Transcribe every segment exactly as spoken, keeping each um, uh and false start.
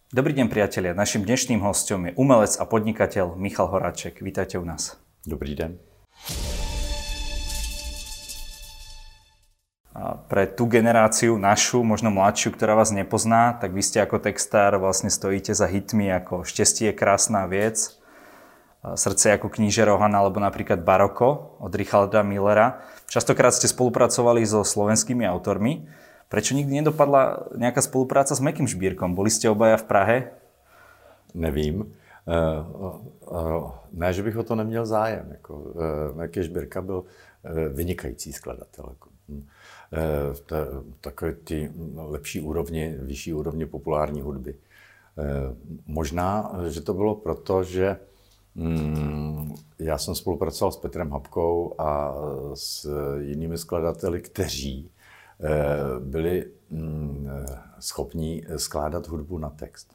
Dobrý deň, priatelia. Našim dnešným hosťom je umelec a podnikateľ Michal Horáček. Vítajte u nás. Dobrý den. A pre tú generáciu, našu, možno mladšiu, ktorá vás nepozná, tak vy ste ako textár vlastne stojíte za hitmi ako Šťastie je krásna vec, Srdce ako kníže Rohan alebo napríklad Baroko od Richarda Millera. Častokrát ste spolupracovali so slovenskými autormi. Prečo nikdy nedopadla nějaká spolupráca s Mekim Žbírkom? Byli jste obaja v Prahe? Nevím. Ne, že bych o to neměl zájem. Meky Žbírka byl vynikající skladatel. Takové ty lepší úrovně, vyšší úrovně populární hudby. Možná, že to bylo proto, že já jsem spolupracoval s Petrem Habkou a s jinými skladateli, kteří byli schopní skládat hudbu na text.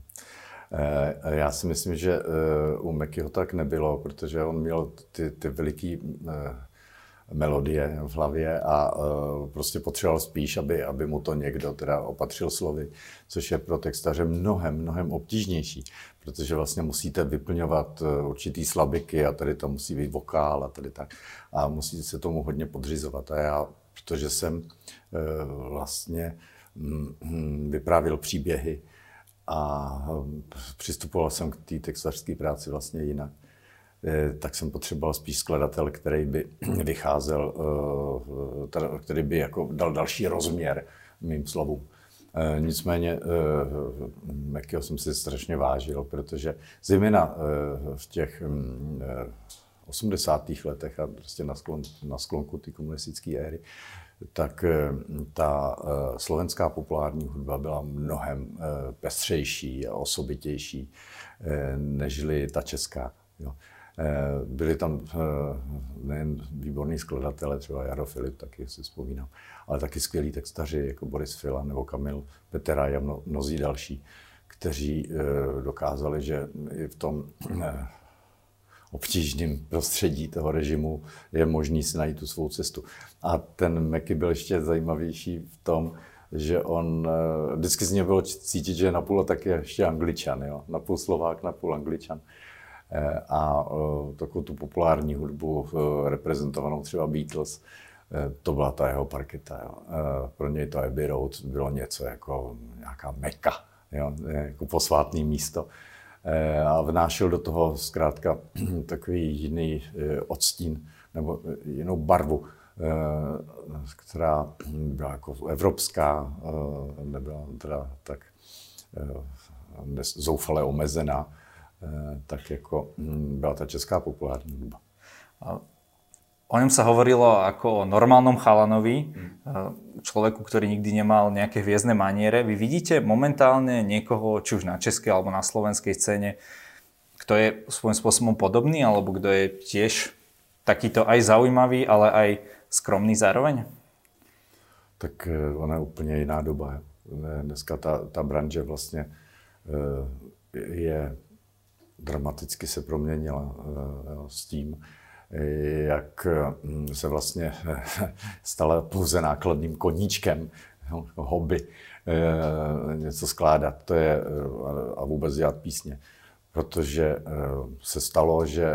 Já si myslím, že u Mekyho tak nebylo, protože on měl ty, ty veliké melodie v hlavě a prostě potřeboval spíš, aby, aby mu to někdo teda opatřil slovy, což je pro textaře mnohem, mnohem obtížnější, protože vlastně musíte vyplňovat určitý slabiky a tady to musí být vokál a tady tak a musíte se tomu hodně podřizovat. A já, protože jsem vlastně vyprávěl příběhy a přistupoval jsem k té textařské práci vlastně jinak, tak jsem potřeboval spíš skladatel, který by vycházel, který by jako dal další rozměr mým slovům. Nicméně Mekyho jsem si strašně vážil, protože zejména v těch osmdesátých letech a prostě na, sklon, na sklonku té komunistické éry, tak ta slovenská populární hudba byla mnohem pestřejší a osobitější nežli ta česká. Jo. Byli tam nejen výborní skladatelé, třeba Jaro Filip, taky si vzpomínám, ale taky skvělí textaři, jako Boris Filan nebo Kamil Peteraj a mno, mnozí další, kteří dokázali, že i v tom obtížném prostředí toho režimu je možný si najít tu svou cestu. A ten Meky byl ještě zajímavější v tom, že on, vždycky z něj bylo cítit, že je napůl taky ještě Angličan, jo? Napůl Slovák, napůl Angličan. A takovou tu populární hudbu reprezentovanou třeba Beatles, to byla ta jeho parketa. Jo. Pro něj to Abbey Road bylo něco jako nějaká Meka, jo, jako posvátné místo. A vnášel do toho zkrátka takový jiný odstín nebo jinou barvu, která byla jako evropská, nebyla teda tak zoufale omezená, tak jako byla ta česká populární hudba. O ňom sa hovorilo ako o normálnom chalanovi, človeku, ktorý nikdy nemal nejaké hviezdne maniere. Vy vidíte momentálne niekoho, či už na českej alebo na slovenskej scéne, kto je svojím spôsobom podobný, alebo kto je tiež takýto aj zaujímavý, ale aj skromný zároveň? Tak ona je úplně jiná doba. Dneska ta, ta branže vlastně je dramaticky se proměnila s tím, jak se vlastně stala pouze nákladným koníčkem, hobby, něco skládat, to je, a vůbec dělat písně. Protože se stalo, že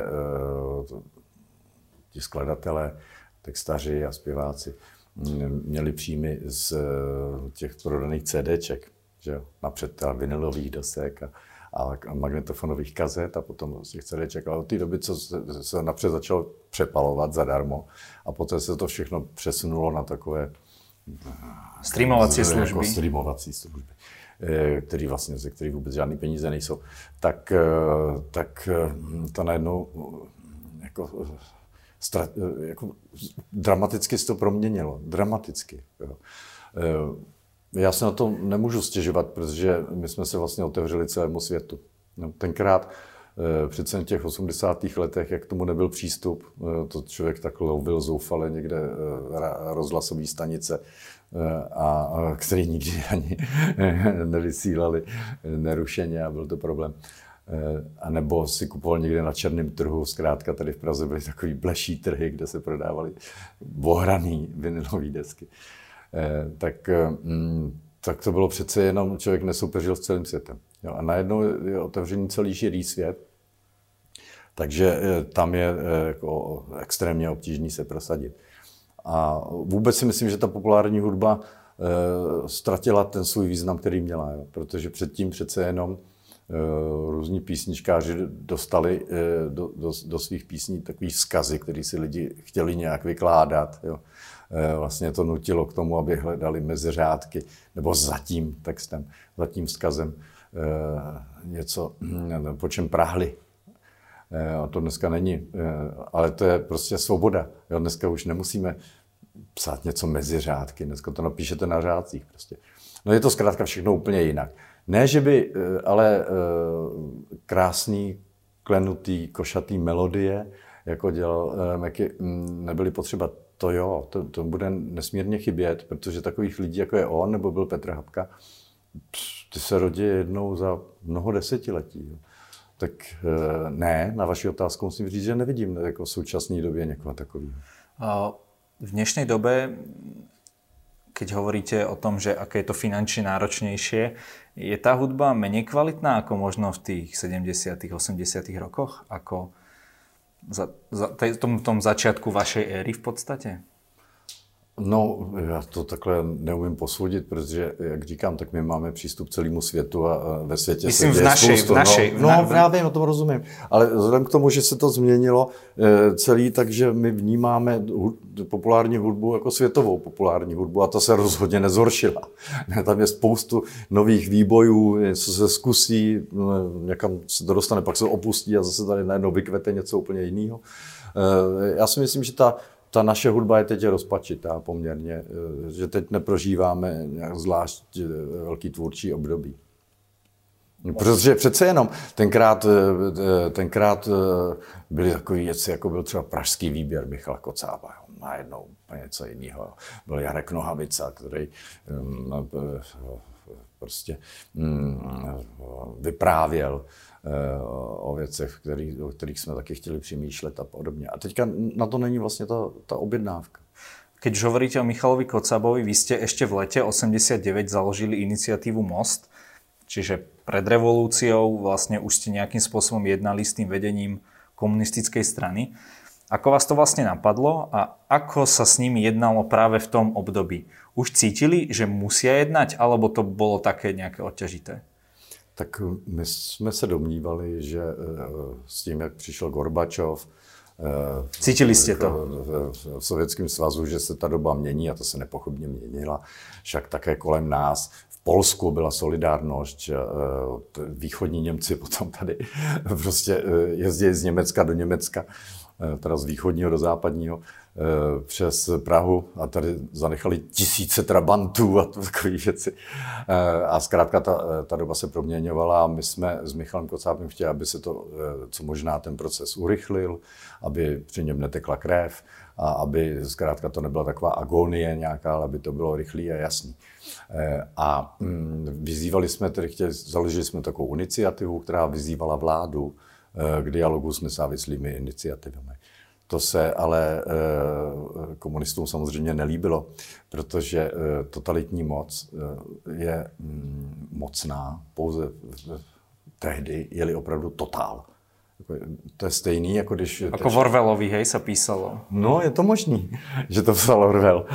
ti skladatelé, textaři a zpěváci měli příjmy z těch prodaných CDček, že jo, napřed vinylových desek a a magnetofonových kazet a potom z těch CDček. Ale od té doby, co se, se napřed začalo přepalovat zadarmo a poté se to všechno přesunulo na takové streamovací jako služby, streamovací služby, který vlastně, ze kterých vůbec žádný peníze nejsou, tak, tak to najednou jako, stra, jako dramaticky se to proměnilo. Dramaticky. Jo. Já se na to nemůžu stěžovat, protože my jsme se vlastně otevřeli celému světu. Tenkrát přece v těch osmdesátých letech, jak tomu nebyl přístup, to člověk tak lovil zoufale někde rozhlasové stanice, a který nikdy ani nevysílali nerušeně a byl to problém. A nebo si kupoval někde na černém trhu, zkrátka tady v Praze byly takový bleší trhy, kde se prodávaly ohraný vinylové desky. Tak, tak to bylo přece jenom, člověk nesoupeřil s celým světem. Jo, a najednou je otevřený celý širý svět, takže tam je jako extrémně obtížný se prosadit. A vůbec si myslím, že ta populární hudba ztratila ten svůj význam, který měla, jo, protože předtím přece jenom různí písničkáři dostali do, do, do svých písní takový vzkazy, které si lidi chtěli nějak vykládat. Jo. Vlastně to nutilo k tomu, aby hledali mezi řádky, nebo za tím textem, za tím vzkazem něco, po čem prahli. A to dneska není, ale to je prostě svoboda. Jo. Dneska už nemusíme psát něco mezi řádky, dneska to napíšete na řádcích prostě. No je to zkrátka všechno úplně jinak. Ne, že by ale krásný, klenutý, košatý melodie, jako dělal Meky, nebyly potřeba. To jo, to, to bude nesmírně chybět, protože takových lidí, jako je on, nebo byl Petr Habka, ty se rodí jednou za mnoho desetiletí. Jo. Tak ne, na vaši otázku musím říct, že nevidím jako v současné době někoho takového. V dnešnej dobe, keď hovoríte o tom, že aké je to finančne náročnejšie, je tá hudba menej kvalitná ako možno v tých sedemdesiatych, osemdesiatych rokoch? Ako za, za tom, tom začiatku vašej éry v podstate? No, já to takhle neumím posoudit, protože, jak říkám, tak my máme přístup k celému světu a ve světě Myslím, se děje našej, spoustu. v našej, no, v na... no, já vím, o tom rozumím. Ale vzhledem k tomu, že se to změnilo celý, takže my vnímáme populární hudbu jako světovou populární hudbu a to se rozhodně nezhoršila. Tam je spoustu nových výbojů, něco se zkusí, někam se to dostane, pak se opustí a zase tady najednou vykvete něco úplně jiného. Já si myslím, že ta Ta naše hudba je teď rozpačitá poměrně, že teď neprožíváme nějak zvlášť velký tvůrčí období. Protože přece jenom tenkrát, tenkrát byly takové věci, jako byl třeba pražský výběr Michala Kocába, najednou něco jiného. Byl Jarek Nohavica, který prostě vyprávěl o věcech, který, o kterých jsme taky chtěli přemýšlet a podobně. A teďka na to není vlastně ta, ta objednávka. Keď už hovoríte o Michalovi Kocabovi, vy ste ešte v lete osemdesiatdeväť založili iniciatívu Most, čiže pred revolúciou vlastne už ste nejakým spôsobom jednali s tým vedením komunistickej strany. Ako vás to vlastne napadlo a ako sa s nimi jednalo práve v tom období? Už cítili, že musia jednať, alebo to bolo také nejaké odťažité? Tak my jsme se domnívali, že s tím, jak přišel Gorbačov, cítili jste to? V Sovětském svazu, že se ta doba mění a to se nepochybně měnila. Však také kolem nás. V Polsku byla solidárnost, východní Němci potom tady prostě jezdí z Německa do Německa, teda z východního do západního, přes Prahu a tady zanechali tisíce trabantů a takové věci. A zkrátka ta, ta doba se proměňovala a my jsme s Michalem Kocábem chtěli, aby se to, co možná ten proces urychlil, aby při něm netekla krev a aby zkrátka to nebyla taková agonie nějaká, ale aby to bylo rychlý a jasný. A vyzývali jsme, tedy chtěli, založili jsme takovou iniciativu, která vyzývala vládu k dialogu s nezávislými iniciativami. To se ale komunistům samozřejmě nelíbilo, protože totalitní moc je mocná pouze tehdy, je-li opravdu totál. To je stejný, jako když... Ako v Orwellovi, hej, sa písalo. No, je to možný, že to psal Orwell.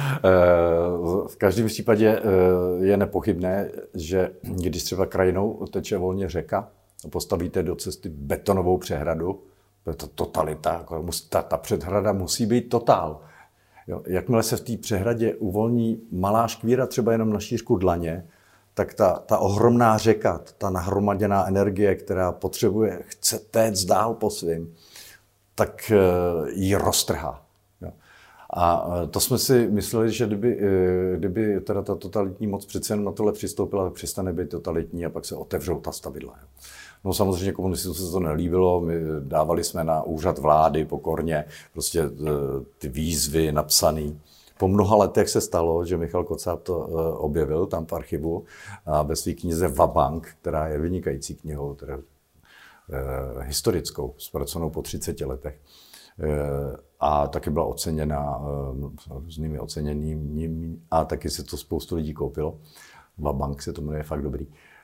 V každém případě je nepochybné, že když třeba krajinou teče volně řeka, postavíte do cesty betonovou přehradu, to je to totalita, ta, ta přehrada musí být totál. Jo, jakmile se v té přehradě uvolní malá škvíra, třeba jenom na šířku dlaně, tak ta, ta ohromná řeka, ta nahromaděná energie, která potřebuje, chce téct dál po svým, tak ji roztrhá. Jo. A to jsme si mysleli, že kdyby, kdyby teda ta totalitní moc přece jenom na tohle přistoupila, tak přestane být totalitní a pak se otevřou ta stavidla. Jo. No samozřejmě komunistům se to nelíbilo, my dávali jsme na úřad vlády pokorně prostě ty výzvy napsané. Po mnoha letech se stalo, že Michal Kocáb to objevil tam v archivu a ve své knize Vabank, která je vynikající knihou, teda, eh, historickou, zpracovanou po třiceti letech. Eh, a taky byla oceněna eh, různými oceněními a taky se to spoustu lidí koupilo. Vabank se to jmenuje, fakt dobrý.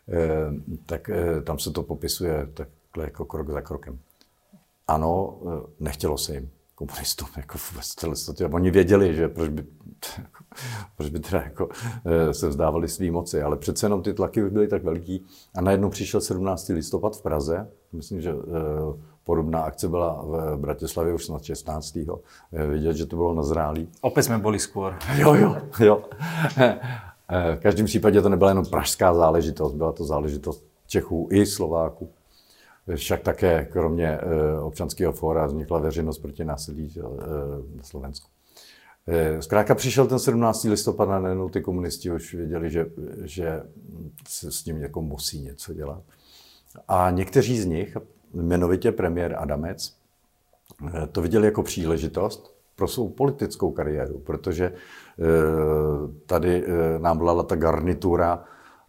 tak tam se to popisuje takhle jako krok za krokem. Ano, nechtělo se jim, komunistům, jako vůbec celé. Oni věděli, že proč by, proč by teda jako se vzdávali svý moci, ale přece jenom ty tlaky už byly tak veliký a najednou přišel sedmnáctého listopad v Praze. Myslím, že podobná akce byla v Bratislavě už snad šestnáctého Vidět, že to bylo nazrálý. Opět jsme byli skôr. Jo, jo, jo. V každém případě to nebyla jenom pražská záležitost, byla to záležitost Čechů i Slováků. Však také kromě občanského fóra vznikla veřejnost proti násilí na Slovensku. Zkrátka přišel ten sedmnáctého listopad a najednou ty komunisti už věděli, že, že se s tím jako musí něco dělat. A někteří z nich, jmenovitě premiér Adamec, to viděli jako příležitost pro svou politickou kariéru, protože tady nám vládla ta garnitura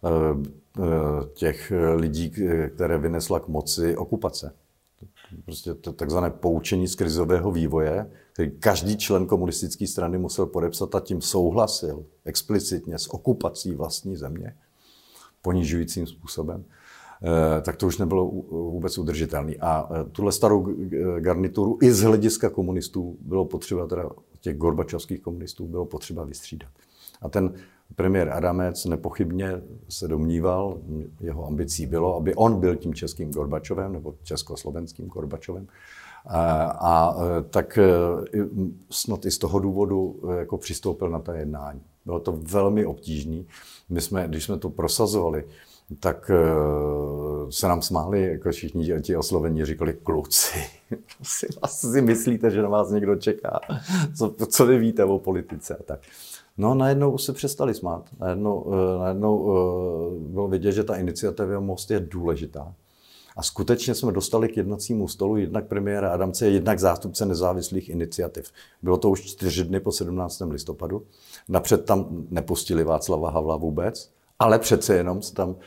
těch lidí, které vynesla k moci okupace. Prostě to takzvané poučení z krizového vývoje, který každý člen komunistické strany musel podepsat a tím souhlasil explicitně s okupací vlastní země, ponižujícím způsobem, tak to už nebylo vůbec udržitelné. A tuhle starou garnituru i z hlediska komunistů bylo potřeba, teda těch gorbačovských komunistů, bylo potřeba vystřídat. A ten premiér Adamec nepochybně se domníval, jeho ambicí bylo, aby on byl tím českým Gorbačovem nebo československým Gorbačovem. A, a tak snad i z toho důvodu jako přistoupil na ta jednání. Bylo to velmi obtížné. My jsme, když jsme to prosazovali, tak se nám smáli, jako všichni ti oslovení, říkali kluci, si asi myslíte, že na vás někdo čeká, co, co vy víte o politice a tak. No najednou se přestali smát, najednou, najednou bylo vidět, že ta iniciativa Most je důležitá. A skutečně jsme dostali k jednacímu stolu jednak premiéra Adamce, jednak zástupce nezávislých iniciativ. Bylo to už čtyři dny po sedmnáctého listopadu. Napřed tam nepustili Václava Havla vůbec, ale přece jenom se tam e,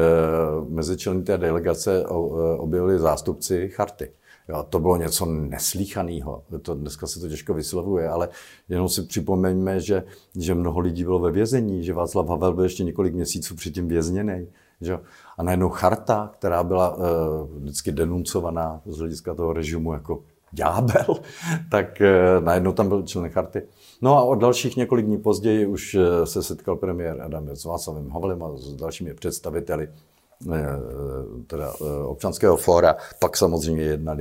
mezi členy té delegace objevili zástupci Charty. Jo, to bylo něco neslýchaného. To, dneska se to těžko vyslovuje, ale jenom si připomeňme, že, že mnoho lidí bylo ve vězení, že Václav Havel byl ještě několik měsíců předtím vězněný. Že? A najednou Charta, která byla uh, vždycky denuncovaná z hlediska toho režimu jako ďábel, tak uh, najednou tam byl člen Charty. No a od dalších několik dní později už uh, se setkal premiér Adamec s Václavem Havlem a s dalšími představiteli uh, teda, uh, občanského fóra. Pak samozřejmě jednali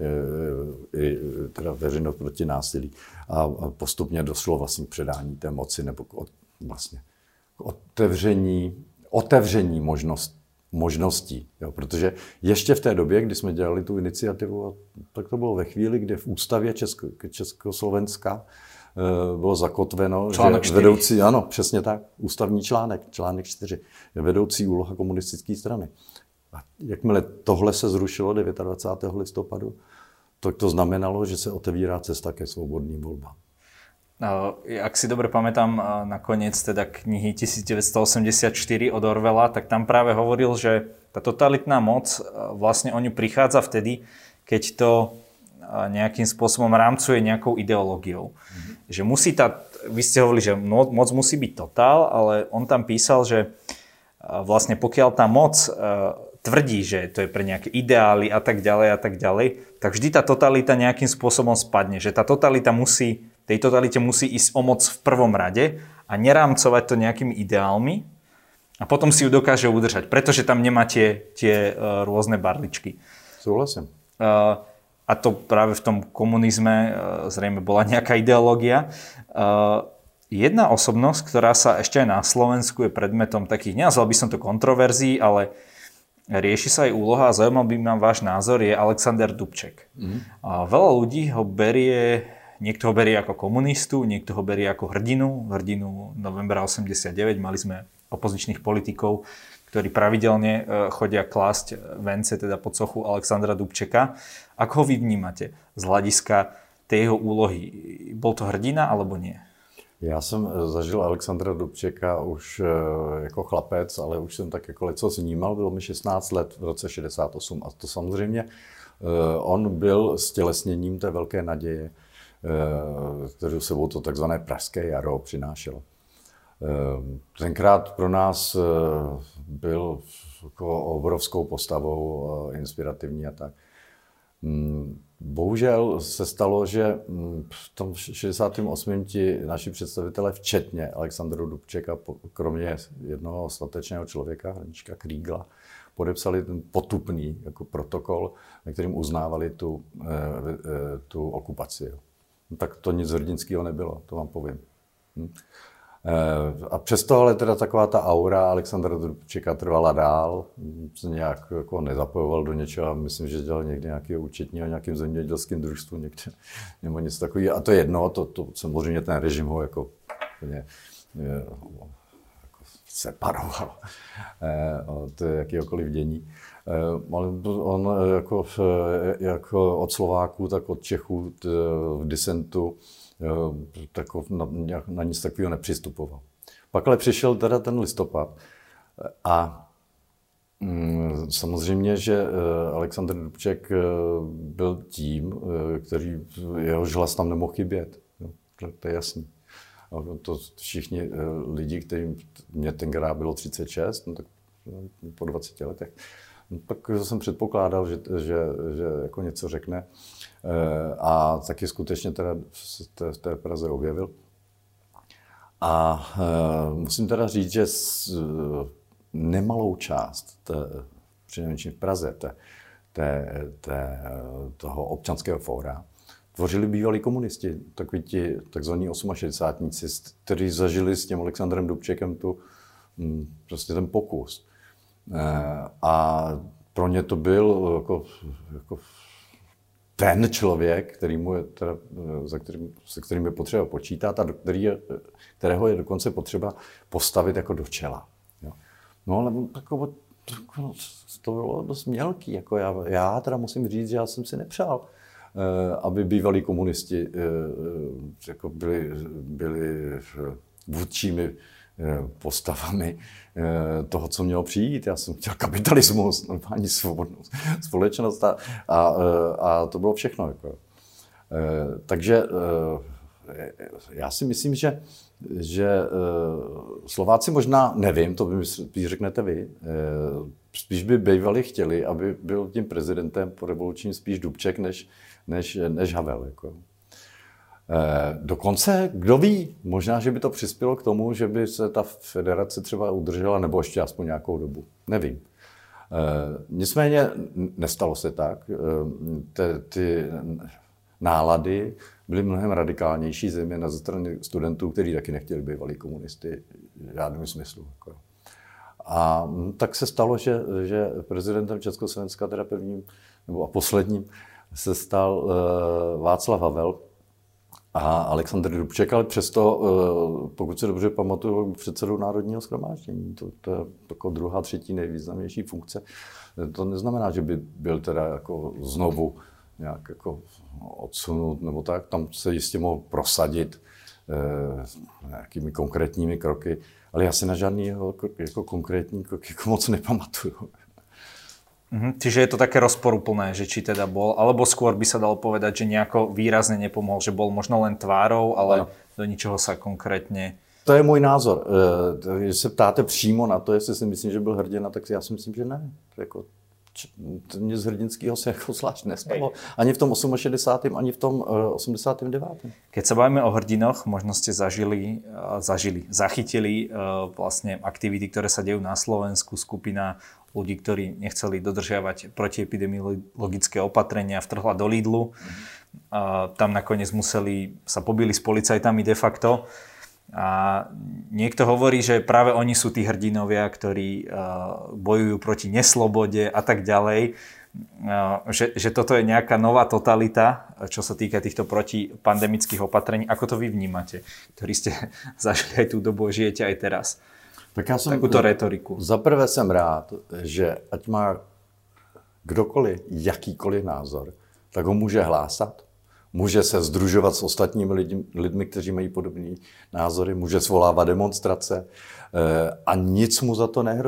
uh, i teda veřejnost proti násilí. A, a postupně došlo vlastně k předání té moci nebo k, od, vlastně, k otevření otevření možnost, možností. Jo, protože ještě v té době, kdy jsme dělali tu iniciativu, tak to bylo ve chvíli, kdy v ústavě Česko, Československa e, bylo zakotveno, článek že vedoucí, ano, přesně tak, ústavní článek, článek čtyři, je vedoucí úloha komunistické strany. A jakmile tohle se zrušilo dvacátého devátého listopadu, tak to znamenalo, že se otevírá cesta ke svobodným volbám. Ak si dobre pamätám nakoniec teda knihy devätnásťstoosemdesiatštyri od Orwella, tak tam práve hovoril, že tá totalitná moc vlastne o ňu prichádza vtedy, keď to nejakým spôsobom rámcuje nejakou ideológiou. Mm-hmm. Že musí tá, vy ste hovorili, že moc musí byť totál, ale on tam písal, že vlastne pokiaľ tá moc tvrdí, že to je pre nejaké ideály a tak ďalej a tak ďalej, tak vždy tá totalita nejakým spôsobom spadne. Že tá totalita musí tej totalite musí ísť o moc v prvom rade a nerámcovať to nejakými ideálmi a potom si ju dokáže udržať, pretože tam nemá tie, tie uh, rôzne barličky. Súhlasím. Uh, a to práve v tom komunizme uh, zrejme bola nejaká ideológia. Uh, jedna osobnosť, ktorá sa ešte aj na Slovensku je predmetom takých, nenazval by som to kontroverzií, ale rieši sa aj úloha a zaujímal by ma váš názor, je Alexander Dubček. Mm. Uh, veľa ľudí ho berie Niekto ho berie ako komunistu, niekto ho berie ako hrdinu, hrdinu novembra osemdesiatdeväť. Mali sme opozičných politikov, ktorí pravidelne chodia klásť vence teda pod sochu Alexandra Dubčeka. Ako ho vy vnímate z hľadiska tej jeho úlohy? Bol to hrdina alebo nie? Já jsem zažil Alexandra Dubčeka už jako chlapec, ale už jsem tak jako leco vnímal. Bylo mi šestnáct let v roce šedesát osm a to samozřejmě on byl stělesněním té velké naděje, kterou sebou to takzvané pražské jaro přinášelo. Tenkrát pro nás byl jako obrovskou postavou, inspirativní a tak. Bohužel se stalo, že v tom šedesátém osmém ti naši představitelé, včetně Alexandra Dubčeka, kromě jednoho statečného člověka, Hraníčka Krígla, podepsali ten potupný jako protokol, na kterým uznávali tu, tu okupaci. No, tak to nic hrdinského nebylo, to vám povím. Hm. A přesto ale teda taková ta aura Alexandra Dubčeka trvala dál, se nějak jako nezapojoval do něčeho a myslím, že dělal někdy nějakého účetního, nějakým zemědělským družstvu někde, nebo něco takového. A to je jedno, to, to samozřejmě ten režim ho jako, je, jako separoval od jakéhokoliv dění. Ale on jako, jako od Slováků, tak od Čechů v disentu tak na, na nic takového nepřistupoval. Pak ale přišel teda ten listopad a mm, samozřejmě, že Alexandr Dubček byl tím, který jehož hlas tam nemohl chybět. No, to, to je jasný. To všichni lidi, kterým mě tenkrát bylo třicet šest, no tak po dvaceti letech, no, tak jsem předpokládal, že, že, že jako něco řekne. A taky skutečně teda v té Praze objevil. A musím teda říct, že nemalou část, té, přinejmenším v Praze, té, té, té, toho občanského fóra, tvořili bývalí komunisti, takoví ti takzvaní osmašedesátníci, kteří zažili s tím Alexandrem Dubčekem tu, prostě ten pokus. A pro ně to byl jako, jako ten člověk, který mu je teda, za kterým, se kterým je potřeba počítat a do který je, kterého je dokonce potřeba postavit jako do čela. Jo. No ale takové, to bylo dost mělký. Jako já, já teda musím říct, že já jsem si nepřál, aby bývalí komunisti jako byli, byli vůdčími postavami toho, co mělo přijít. Já jsem chtěl kapitalismus, normální svobodnou společnost a, a, a to bylo všechno. Jako. Takže já si myslím, že, že Slováci možná, nevím, to by spíš řeknete vy, spíš by bývali chtěli, aby byl tím prezidentem po revolučním spíš Dubček než, než, než Havel. Jako. Dokonce, kdo ví, možná, že by to přispělo k tomu, že by se ta federace třeba udržela, nebo ještě aspoň nějakou dobu. Nevím. Nicméně nestalo se tak. Ty, ty nálady byly mnohem radikálnější, zejména ze strany studentů, kteří taky nechtěli bývalí komunisty v žádném smyslu. A tak se stalo, že, že prezidentem Československa, teda prvním nebo a posledním, se stal Václav Havel, a Alexandr Dubček, ale přesto, pokud se dobře pamatuju, předsedou Národního shromáždění. To, to je jako druhá, třetí nejvýznamnější funkce. To neznamená, že by byl teda jako znovu nějak jako odsunut nebo tak. Tam se jistě mohl prosadit eh, nějakými konkrétními kroky, ale já si na žádný jeho jako konkrétní krok jako moc nepamatuju. Mhm, čiže je to také rozporuplné, že či teda bol, alebo skôr by sa dalo povedať, že nejako výrazne nepomohol, že bol možno len tvárou, ale ano. Do ničeho sa konkrétně... To je můj názor. Když se ptáte přímo na to, jestli si myslím, že byl hrdina, tak já si myslím, že ne. Jako, nic hrdinského se jako zvlášť nestalo. Ani v tom šedesátém osmém ani v tom osmdesátém devátém Keď sa bavíme o hrdinoch, možno ste zažili, zažili, zachytili vlastne aktivity, ktoré sa dejú na Slovensku, skupina ľudí, ktorí nechceli dodržiavať protiepidemiologické opatrenia, vtrhla do Lidlu. A tam nakoniec museli, sa pobili s policajtami de facto. A niekto hovorí, že práve oni sú tí hrdinovia, ktorí bojujú proti neslobode a tak ďalej. Že, že toto je nejaká nová totalita, čo sa týka týchto protipandemických opatrení. Ako to vy vnímate, ktorí ste zažili aj tú dobu, žijete aj teraz? Tak já jsem, takúto retoriku. Za prvé jsem rád, že ať má kdokoliv jakýkoliv názor, tak ho může hlásat, může se sdružovat s ostatními lidmi, lidmi kteří mají podobné názory, může svolávat demonstrace a nic mu za to nehrozí.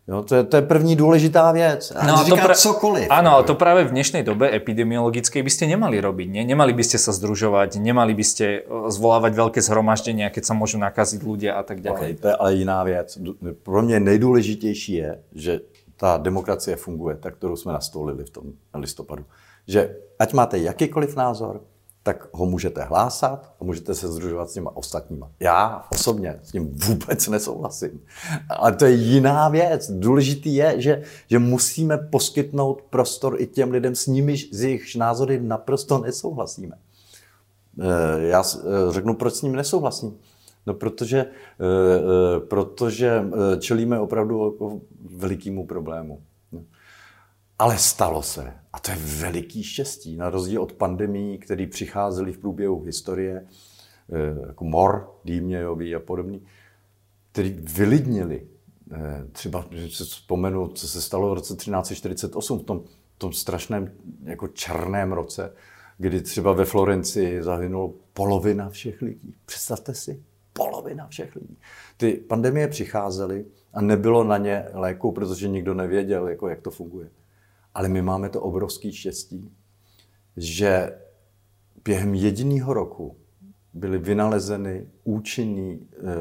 Jo, to, je, to je první důležitá věc. A no a to říká pra... cokoliv. Áno, ale to práve v dnešnej dobe epidemiologickej by ste nemali robiť. Nie? Nemali by ste sa združovať, nemali by ste zvolávať veľké zhromaždenia, keď sa môžu nakaziť ľudia a tak ďalej. Okay, to je ale jiná věc. Pro mě nejdůležitější je, že ta demokracie funguje, tak kterou jsme nastolili v tom listopadu. Že ať máte jakýkoliv názor, tak ho můžete hlásat a můžete se združovat s těma ostatníma. Já osobně s tím vůbec nesouhlasím. Ale to je jiná věc. Důležitý je, že, že musíme poskytnout prostor i těm lidem, s nimi, z jejich názory naprosto nesouhlasíme. Já řeknu, proč s nimi nesouhlasím. No, protože, protože čelíme opravdu velikému problému. Ale stalo se. A to je veliký štěstí. Na rozdíl od pandemií, které přicházely v průběhu historie, jako mor, dýmějový a podobný, který vylidnili. Třeba, že se vzpomenu, co se stalo v roce třináct set čtyřicet osm, v tom, v tom strašném jako černém roce, kdy třeba ve Florencii zahynulo polovina všech lidí. Představte si, polovina všech lidí. Ty pandemie přicházely a nebylo na ně léku, protože nikdo nevěděl, jako, jak to funguje. Ale my máme to obrovské štěstí, že během jediného roku byly vynalezeny účinné e, e,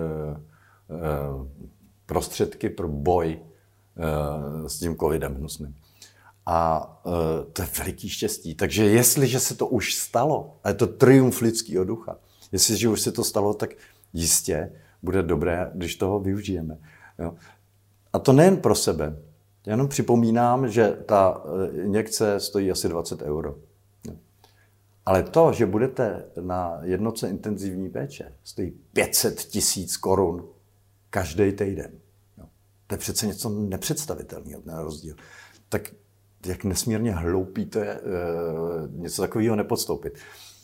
prostředky pro boj e, s tím covidem hnusným. A e, to je veliký štěstí. Takže jestliže se to už stalo, a je to triumf lidského ducha, jestliže už se to stalo, tak jistě bude dobré, když toho využijeme. Jo? A to nejen pro sebe. Já jenom připomínám, že ta injekce stojí asi dvacet euro. Ale to, že budete na jednotce intenzivní péče, stojí pět set tisíc korun každý týden. To je přece něco nepředstavitelného, ten rozdíl. Tak jak nesmírně hloupý to je něco takového nepodstoupit.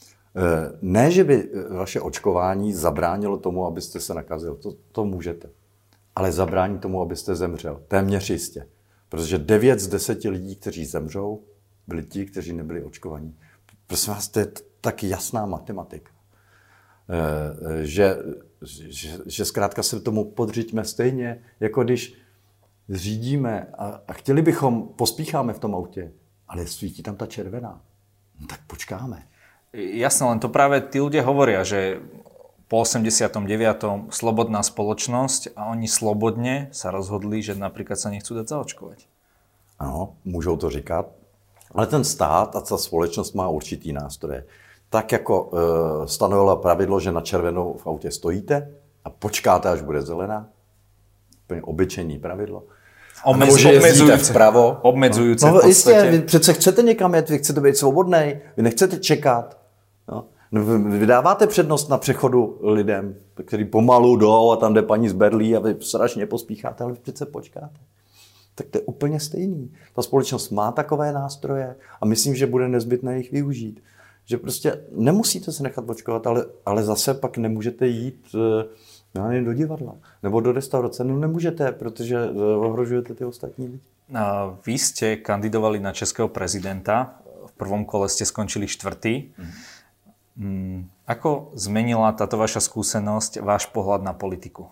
Ne, že by vaše očkování zabránilo tomu, abyste se nakazil. To, to můžete. Ale zabrání tomu, abyste zemřel. Téměř jistě. Protože devět z deseti lidí, kteří zemřou, byli ti, kteří nebyli očkovaní. Prosím vás, to je tak jasná matematika. Že, že, že zkrátka se tomu podřiďme stejně, jako když řídíme a, a chtěli bychom, pospícháme v tom autě, ale svítí tam ta červená. No tak počkáme. Jasné, len to práve tí ľudia hovoria, že po osemdesiatom deviatom slobodná spoločnosť a oni slobodne sa rozhodli, že napríklad sa nechcú dať zaočkovať. Ano, můžou to říkat, ale ten stát a ta společnost má určitý nástroje. Tak jako e, stanovila pravidlo, že na červenou v autě stojíte a počkáte, až bude zelená. Úplně obyčejný pravidlo. Omez, že jezdíte vpravo. Obmedzujúce no, v podstate. Jistě, vy přece chcete někam jet, vy chcete být svobodnej, vy nechcete čekat. No. Vy dáváte přednost na přechodu lidem, kteří pomalu jdou a tam jde paní z Berlí a vy strašně pospícháte, ale vy přece počkáte. Tak to je úplně stejný. Ta společnost má takové nástroje a myslím, že bude nezbytné jich využít. Že prostě nemusíte se nechat očkovat, ale, ale zase pak nemůžete jít já nevím, do divadla nebo do restaurace. No nemůžete, protože ohrožujete ty ostatní lidi. Vy ste kandidovali na českého prezidenta. V prvom kole ste skončili štvrtý. Mm. Ako zmenila táto vaša skúsenosť váš pohľad na politiku?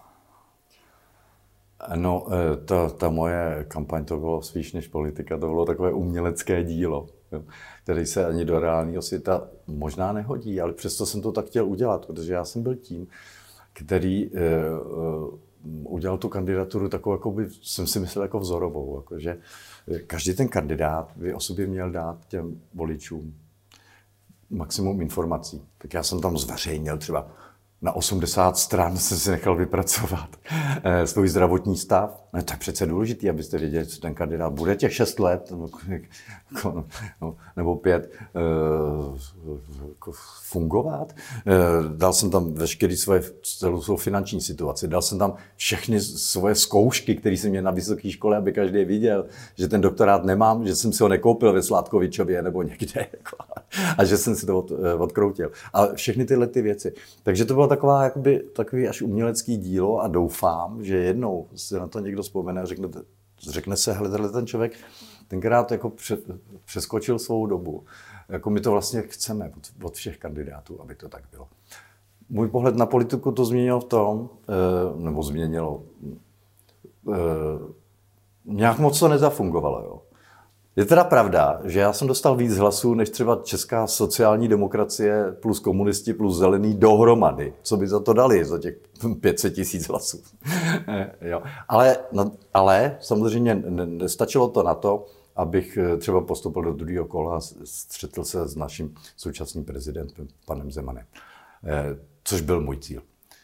No, ta, ta moje kampaň to bylo spíš než politika, to bylo takové umělecké dílo, které se ani do reálného světa možná nehodí, ale přesto jsem to tak chtěl udělat, protože já jsem byl tím, který uh, uh, udělal tu kandidaturu takovou, jako by, jsem si myslel, jako vzorovou. Jako, že každý ten kandidát by o sobě měl dát těm voličům maximum informací. Tak já jsem tam zveřejnil třeba na osmdesát stran jsem si nechal vypracovat eh, svůj zdravotní stav. No, to je přece důležité, abyste věděli, co ten kandidát bude těch šest let nebo, no, nebo pět eh, fungovat. Eh, dal jsem tam veškerý svoje, celou svou finanční situaci, dal jsem tam všechny svoje zkoušky, které jsem měl na vysoké škole, aby každý viděl, že ten doktorát nemám, že jsem si ho nekoupil ve Sládkovičově nebo někde jako, a že jsem si to od, odkroutil. A všechny tyhle ty věci. Takže to bylo taková, jakoby, takový až umělecký dílo a doufám, že jednou se na to někdo vzpomene a řekne, řekne se, hele, ten člověk tenkrát jako před, přeskočil svou dobu. Jako my to vlastně chceme od, od všech kandidátů, aby to tak bylo. Můj pohled na politiku to změnilo v tom, nebo změnilo, nějak moc to nezafungovalo. Jo. Je teda pravda, že já jsem dostal víc hlasů, než třeba česká sociální demokracie plus komunisti plus zelený dohromady. Co by za to dali, za těch pět set tisíc hlasů. Jo. Ale, no, ale samozřejmě nestačilo to na to, abych třeba postoupil do druhého kola a střetl se s naším současným prezidentem, panem Zemanem. Což byl můj cíl.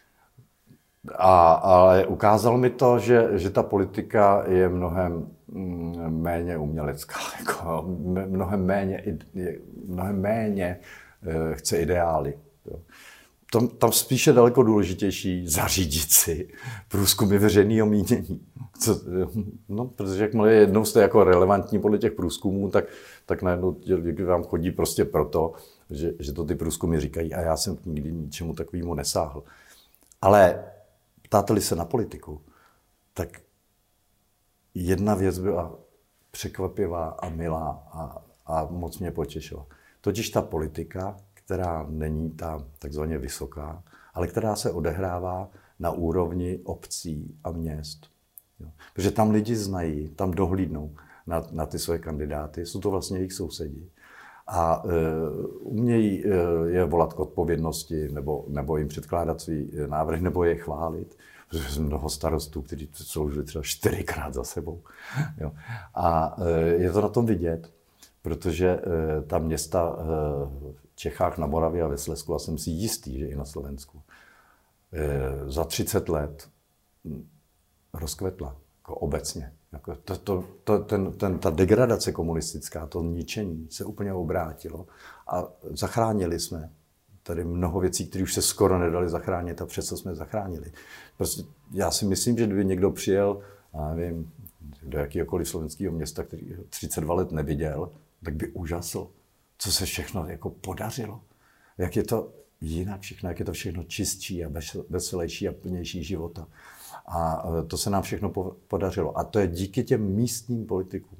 A, ale ukázalo mi to, že, že ta politika je mnohem méně umělecká, jako mnohem méně, mnohem méně chce ideály. Tam, tam spíše daleko důležitější zařídit si průzkumy veřejného mínění. Co, no, protože jakmile jednou jste jako relevantní podle těch průzkumů, tak, tak najednou vám chodí prostě proto, že, že to ty průzkumy říkají a já jsem nikdy ničemu takovému nesáhl. Ale ptáte-li se na politiku, tak jedna věc byla překvapivá a milá a, a moc mě potěšila. Totiž ta politika, která není ta takzvaně vysoká, ale která se odehrává na úrovni obcí a měst. Jo. Protože tam lidi znají, tam dohlídnou na, na ty své kandidáty, jsou to vlastně jejich sousedi. A e, umějí e, je volat k odpovědnosti, nebo, nebo jim předkládat svý návrh, nebo je chválit. Protože jsou mnoho starostů, kteří sloužili třeba čtyřikrát za sebou. Jo. A e, je to na tom vidět, protože e, ta města e, v Čechách, na Moravě a ve Slezsku, a jsem si jistý, že i na Slovensku, e, za třicet let rozkvetla, jako obecně. Jako to, to, to, ten, ten, ta degradace komunistická, to ničení se úplně obrátilo a zachránili jsme tady mnoho věcí, které už se skoro nedali zachránit a přesto jsme zachránili. Prostě já si myslím, že kdyby někdo přijel, já nevím, do jakéhokoliv slovenského města, který třicet dva let neviděl, tak by úžasl, co se všechno jako podařilo. Jak je to jinak všechno, jak je to všechno čistší a veselější a plnější života. A to se nám všechno podařilo. A to je díky těm místním politikům.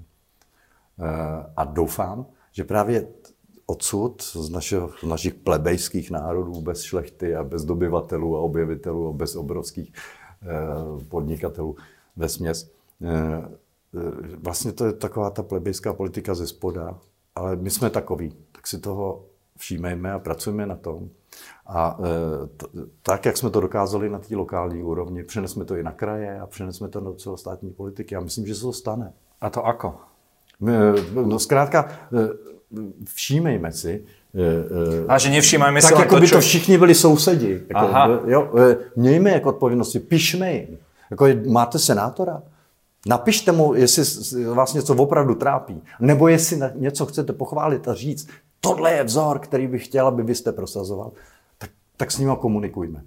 A doufám, že právě odsud, z, našeho, z našich plebejských národů, bez šlechty a bez dobyvatelů a objevitelů a bez obrovských podnikatelů vesměs, vlastně to je taková ta plebejská politika ze spoda, ale my jsme takoví, tak si toho všímejme a pracujeme na tom. A t- tak, jak jsme to dokázali na té lokální úrovni, přenesme to i na kraje a přenesme to do celostátní politiky. Já myslím, že se to stane. A to ako? No zkrátka, všímejme si. A že nevšímajme si tak, jako to, by čo... to všichni byli sousedi. Jako, jo, mějme jako odpovědnosti, pišme jim. Jako, máte senátora? Napište mu, jestli vás něco opravdu trápí. Nebo jestli něco chcete pochválit a říct, tohle je vzor, který bych chtěl, aby vy jste prosazoval, tak, tak s ním komunikujme.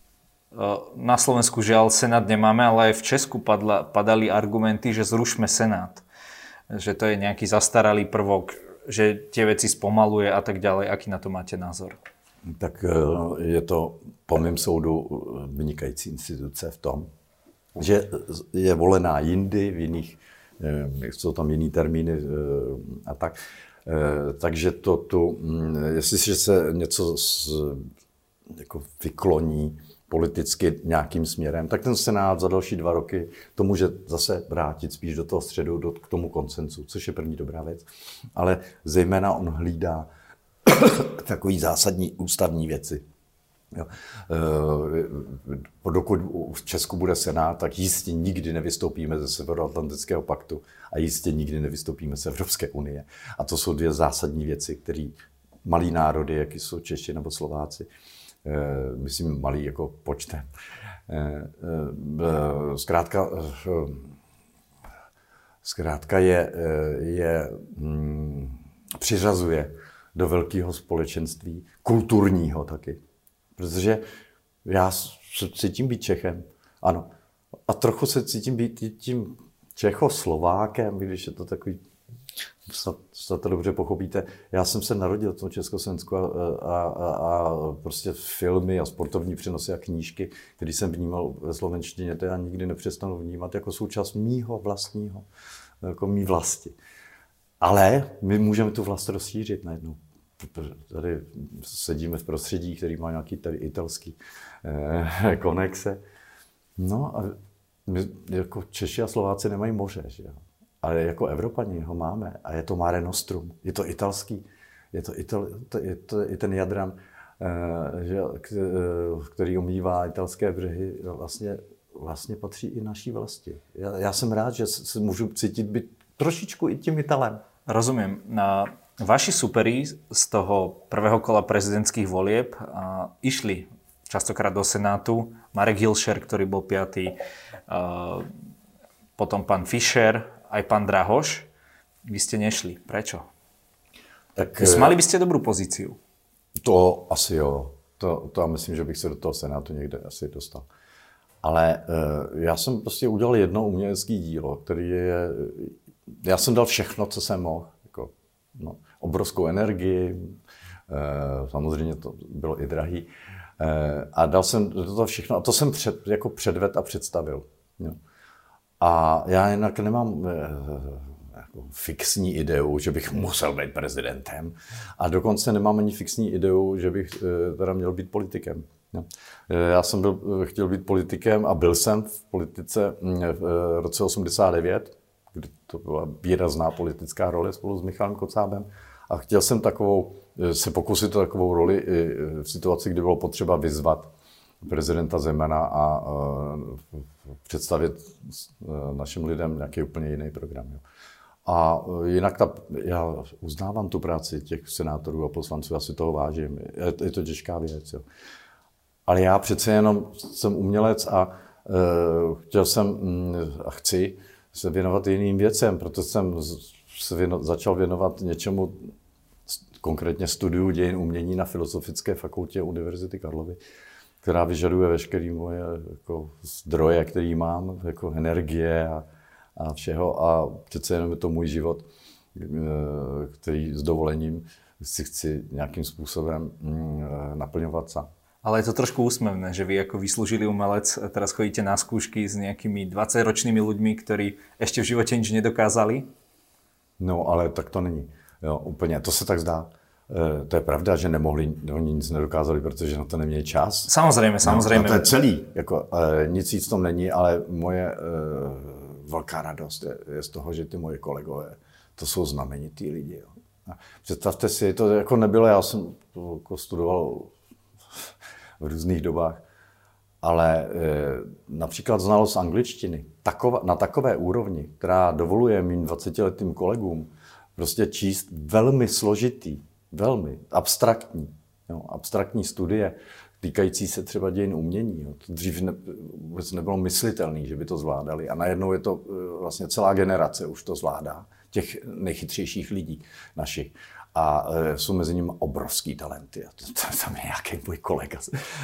Na Slovensku žiaľ Senát nemáme, ale aj v Česku padla, padali argumenty, že zrušme Senát. Že to je nejaký zastaralý prvok, že tie veci spomaluje a tak ďalej. Aký na to máte názor? Tak je to po mém soudu vynikající instituce v tom, že je volená jindy, v jiných, jsou tam jiný termíny a tak. Takže to tu, jestliže se něco z, jako vykloní politicky nějakým směrem, tak ten Senát za další dva roky to může zase vrátit spíš do toho středu, do, k tomu konsenzu, což je první dobrá věc. Ale zejména on hlídá takový zásadní ústavní věci. Jo. E, dokud v Česku bude Senát, tak jistě nikdy nevystoupíme ze Severoatlantického paktu a jistě nikdy nevystoupíme z Evropské unie. A to jsou dvě zásadní věci, které malí národy, jak jsou Češi nebo Slováci, e, myslím malý jako počtem, e, e, zkrátka, e, zkrátka je, je mm, přiřazuje do velkého společenství, kulturního taky. Protože já se cítím být Čechem, ano. A trochu se cítím být tím Čechoslovákem, když je to takový, snad to dobře pochopíte. Já jsem se narodil v tom Československu a, a, a, a prostě filmy a sportovní přenosy a knížky, které jsem vnímal ve slovenštině, to já nikdy nepřestanu vnímat jako součást mýho vlastního, jako mý vlasti. Ale my můžeme tu vlast rozšířit najednou. Tady sedíme v prostředí, který má nějaký tady italský eh, konexe. No a my jako Češi a Slováci nemají moře, že jo? Ale jako Evropani ho máme a je to Mare Nostrum, je to italský, je to, Ital, to, je to i ten Jadran, že, který omývá italské břehy, vlastně, vlastně patří i naší vlasti. Já, já jsem rád, že se můžu cítit být trošičku i tím Italem. Rozumiem. Na vaši superi z toho prvého kola prezidentských volieb a, išli častokrát do Senátu. Marek Hilšer, ktorý bol piatý, a, potom pán Fischer, aj pán Drahoš. Vy ste nešli. Prečo? Tak, mali by ste dobrú pozíciu. To asi jo. To, to já myslím, že bych se do toho Senátu někde asi dostal. Ale e, já jsem prostě udělal jedno umělecké dílo, který je... Já jsem dal všechno, co jsem mohl. Jako, no, obrovskou energii, e, samozřejmě to bylo i drahý. E, a dal jsem do toho všechno. A to jsem před, jako předvedl a představil. Jo. A já jinak nemám... E, fixní ideu, že bych musel být prezidentem. A dokonce nemám ani fixní ideu, že bych teda měl být politikem. Já jsem byl, chtěl být politikem a byl jsem v politice v roce osmdesát devět, kdy to byla výrazná politická role spolu s Michalem Kocábem. A chtěl jsem takovou, se pokusit o takovou roli i v situaci, kdy bylo potřeba vyzvat prezidenta Zemana a představit našim lidem nějaký úplně jiný program. A jinak ta, já uznávám tu práci těch senátorů a poslanců, já si toho vážím, je, je to těžká věc. Jo. Ale já přece jenom jsem umělec a e, chtěl jsem mm, a chci se věnovat jiným věcem, proto jsem se věno, začal věnovat něčemu, konkrétně studiu dějin umění na Filozofické fakultě Univerzity Karlovy, která vyžaduje veškeré moje jako, zdroje, které mám, jako energie a a všeho a přece jenom je to můj život, který s dovolením si chci nějakým způsobem naplňovat sám. Ale je to trošku úsmevné, že vy ako vyslúžilý umelec teraz chodíte na skúšky s nejakými dvadsaťročnými ľuďmi, ktorí ešte v živote nič nedokázali? No, ale tak to není. Jo, úplně, to se tak zdá. E, to je pravda, že nemohli, oni nic nedokázali, protože na to neměli čas. Samozřejmě, samozřejmě. No, to je celý. Jako, e, nic víc tom není, ale moje... E, velká radost je, je z toho, že ty moje kolegové, to jsou znamenitý lidi. Jo. A představte si, to jako nebylo, já jsem to jako studoval v různých dobách, ale e, například znalost angličtiny takova, na takové úrovni, která dovoluje mým dvacetiletým kolegům prostě číst velmi složitý, velmi abstraktní, jo, abstraktní studie, týkající se třeba dějin umění. Jo. To dřív ne, vůbec nebylo myslitelné, že by to zvládali. A najednou je to vlastně celá generace už to zvládá, těch nejchytřejších lidí našich. A e, jsou mezi nimi obrovský talenty. A to, to, tam je nějaký můj kolega,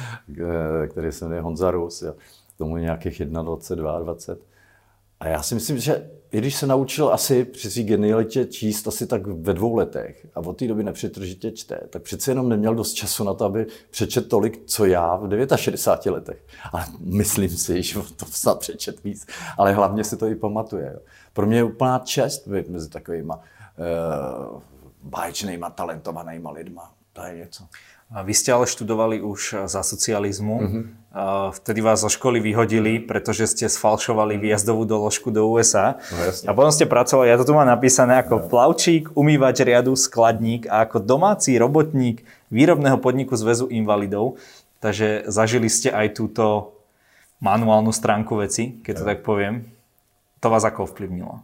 který se jmenuje Honza Rus, jo. Tomu je nějakých dvacet jedna, dvacet dva. A já si myslím, že i když se naučil asi při svý genialitě číst asi tak ve dvou letech a od té doby nepřetržitě čte, tak přece jenom neměl dost času na to, aby přečet tolik, co já v šedesáti devíti letech. Ale myslím si, že to snad přečet víc, ale hlavně si to i pamatuje. Jo. Pro mě je úplná čest být mezi takovýma uh, báječnýma, talentovanýma lidma. To je něco. Vy ste ale študovali už za socializmu. Mm-hmm. Vtedy vás zo školy vyhodili, pretože ste sfalšovali výjazdovú doložku do ú es á. No, a potom ste pracovali, ja to tu mám napísané, ako no. plavčík, umývač riadu, skladník a ako domáci robotník výrobného podniku Zväzu invalidov. Takže zažili ste aj túto manuálnu stránku veci, keď to tak poviem. To vás ako ovplyvnilo?